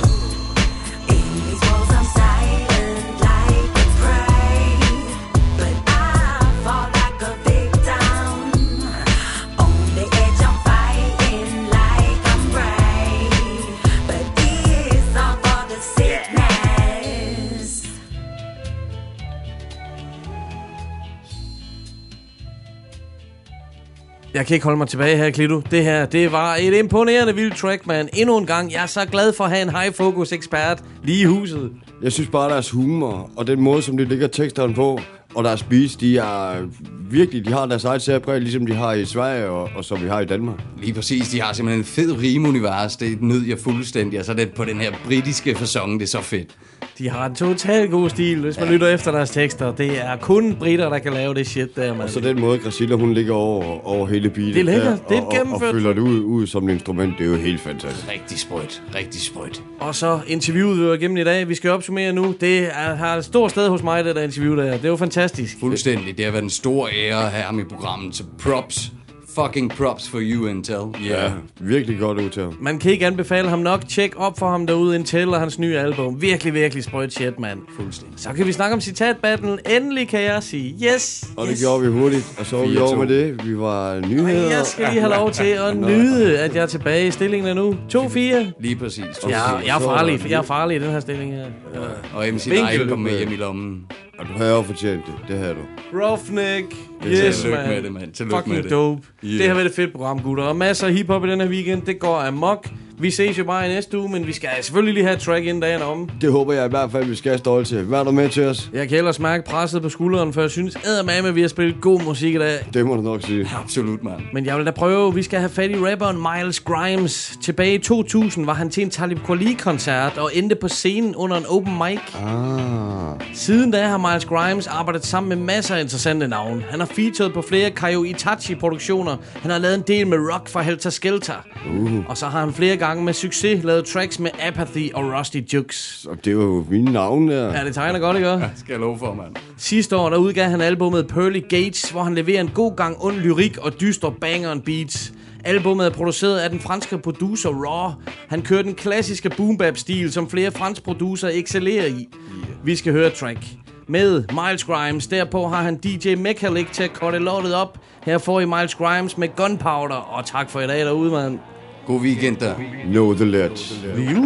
D: Jeg kan ikke holde mig tilbage her, Klito. Det her, det var et imponerende vildt track, man. Endnu en gang, jeg er så glad for at have en high-focus-ekspert lige i huset.
E: Jeg synes bare, deres humor og den måde, som de lægger teksterne på, og deres beats, de er virkelig, de har deres eget særpræg, ligesom de har i Sverige og, og som vi har i Danmark.
C: Lige præcis, de har simpelthen en fed rimeunivers, det nød jeg fuldstændig, og så er det på den her britiske facon, det er så fedt.
D: De har en totalt god stil, hvis man ja. lytter efter deres tekster. Det er kun britter, der kan lave det shit der, man.
E: Og så den måde, Gracilla, hun ligger over, over hele beatet.
D: Det er lækkert, det er
E: og,
D: gennemført.
E: Og, og fylder det ud, ud som et instrument, det er jo helt fantastisk.
C: Rigtig sprødt, rigtig sprødt.
D: Og så interviewet, vi var igennem i dag. Vi skal opsummere nu. Det er, har et stort sted hos mig, det der interview der. Det er jo fantastisk.
C: Fuldstændig. Det har været en stor ære at have ham i programmet. Så props. Fucking props for you, Intel.
E: Yeah. Ja, virkelig godt udtale.
D: Man kan ikke anbefale ham nok. Tjek op for ham derude, Intel og hans nye album. Virkelig, virkelig sprødt shit, mand.
C: Fuldstændig.
D: Så kan vi snakke om citatbattlen. Endelig kan jeg sige yes.
E: Og det
D: yes.
E: gjorde vi hurtigt. Og så var vi over med det. Vi var nyheder.
D: Jeg skal lige have lov til at nyde, at jeg er tilbage i stillingen nu. to fire.
C: Lige præcis.
D: Ja, jeg er farlig. Jeg er farlig i den her stilling her. Ja.
C: Og M C Live kom med hjem i lommen.
E: Og du har jo fortjent det. Det havde du.
D: Roughneck.
C: Yes, man. Med det, man. Tillykke
D: Fucking
C: med det.
D: dope.
C: Yeah.
D: Det har været et fedt program, gutter. Og masser af hiphop i den her weekend. Det går amok. Vi ses jo bare i næste uge, men vi skal selvfølgelig lige have et track inden dagen om.
E: Det håber jeg i hvert fald, vi skal have stolt til. Hvad er du med til os?
D: Jeg kan ellers mærke presset på skulderen, for jeg synes eddermame, at vi har spillet god musik i dag.
E: Det må du nok sige.
C: Absolut, mand.
D: Men jeg vil da prøve. Vi skal have fat i rapperen Miles Grimes. Tilbage i to tusind var han til en Talib Kweli-koncert og endte på scenen under en open mic.
E: Ah.
D: Siden da har Miles Grimes arbejdet sammen med masser af interessante navne. Han har featured på flere Kaio Itachi-produktioner. Han har lavet en del med Rock fra Helter Skelter.
E: Uh.
D: Og så har han flere gange med succes lavet tracks med Apathy og Rusty Jukes.
E: Og det var jo mine navne der.
D: Ja, det tegner godt, ikke?
C: Ja, skal jeg love for, mand.
D: Sidste år, der udgav han albumet Pearly Gates, hvor han leverer en god gang ond lyrik og dyster banger and beats. Albumet er produceret af den franske producer Raw. Han kører den klassiske boom-bap-stil, som flere franske producer excellerer i. Vi skal høre track med Miles Grimes. Derpå har han D J Mechalik til at korte lortet op. Her får I Miles Grimes med Gunpowder. Og tak for i dag derude, mand.
C: God weekend der.
E: Know the ledge.
L: And I feed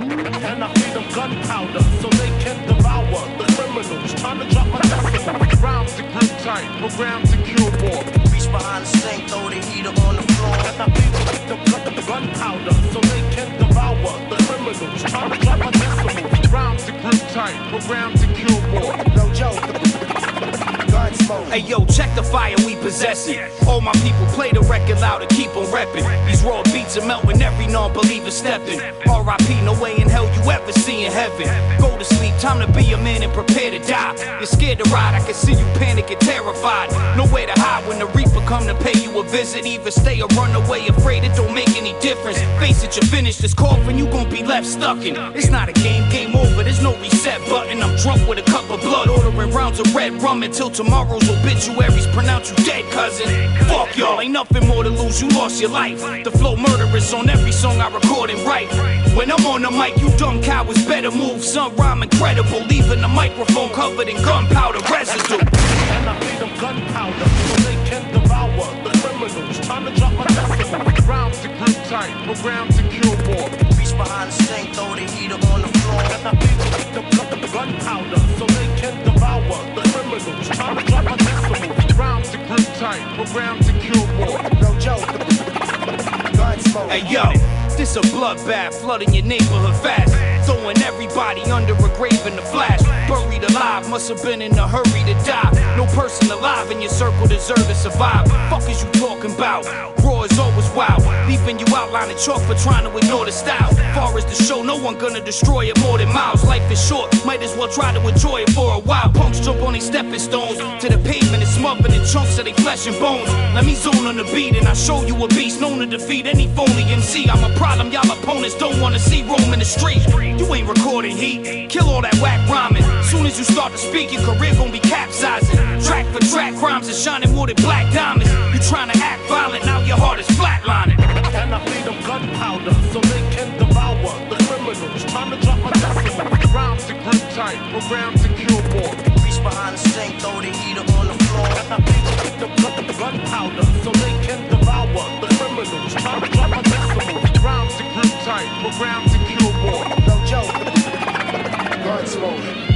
L: them gunpowder so they can devour the criminals. Time to drop my testimony. Rounds to grip tight, programmed to kill more.
G: Reach behind the sink, throw the heater on the floor.
L: And I feed them gunpowder so they can devour the criminals. Time to drop my testimony. Rounds to grip tight, programmed to kill more.
G: No joke.
B: Hey yo, check the fire we possessing. All my people play the record loud and keep on repping. These raw beats are melting, every non-believer stepping. R I P, no way in hell you ever see in heaven. Go to sleep, time to be a man and prepare to die. You're scared to ride, I can see you panic and terrified. Nowhere to hide when the reaper come to pay you a visit. Either stay or run away, afraid it don't make any difference. Face it, you finish this coffin, you gon' be left stuck in. It's not a game, game over, there's no reset button. I'm drunk with a cup of blood, ordering rounds of red rum until tomorrow's obituaries pronounce you dead, cousin. Fuck y'all, ain't nothing more to lose, you lost your life. The flow murderous on every song I record and write. When I'm on the mic, you dumb cowards better move. Some rhyme incredible, leaving the microphone covered in gunpowder residue.
L: And I feed them gunpowder so they can devour the criminals. Time to drop my testimony. Rounds to grip tight, programmed to kill more.
G: Reach behind the sink, throw the heater on the floor.
L: And I feed them gunpowder so they can devour the criminals. Time to drop my testimony. Rounds to grip tight, programmed to kill more.
G: No joke.
B: Hey yo, this a bloodbath, flooding your neighborhood fast. Throwing everybody under a grave in the flash. Buried alive, must have been in a hurry to die. No person alive in your circle deserve to survive. Fuck is you talking about? Raw is always wild, leaving you outlining chalk for trying to ignore the style. Far as the show, no one gonna destroy it more than miles. Life is short, might as well try to enjoy it for a while. Punks jump on these stepping stones to the pavement and smothering in chunks of their flesh and bones. Let me zone on the beat and I show you a beast known to defeat any phony M C. I'm a problem y'all opponents don't wanna see roam in the street. You ain't recording heat, kill all that whack rhyming. Soon as you start to speak, your career gon' be capsizing. Track for track, rhymes are shining more than black diamonds. You trying to act violent, now your heart is flatlining.
L: And I feed them gunpowder so they can devour the criminals. Time to drop my testimony. Rounds to grip tight, programmed to kill more.
G: Reach behind the sink, throw the heater on the floor.
L: And I feed them gunpowder so they can devour the criminals. Time to drop my testimony. Rounds to grip tight, programmed to kill more.
G: No joke. Gunsmoke.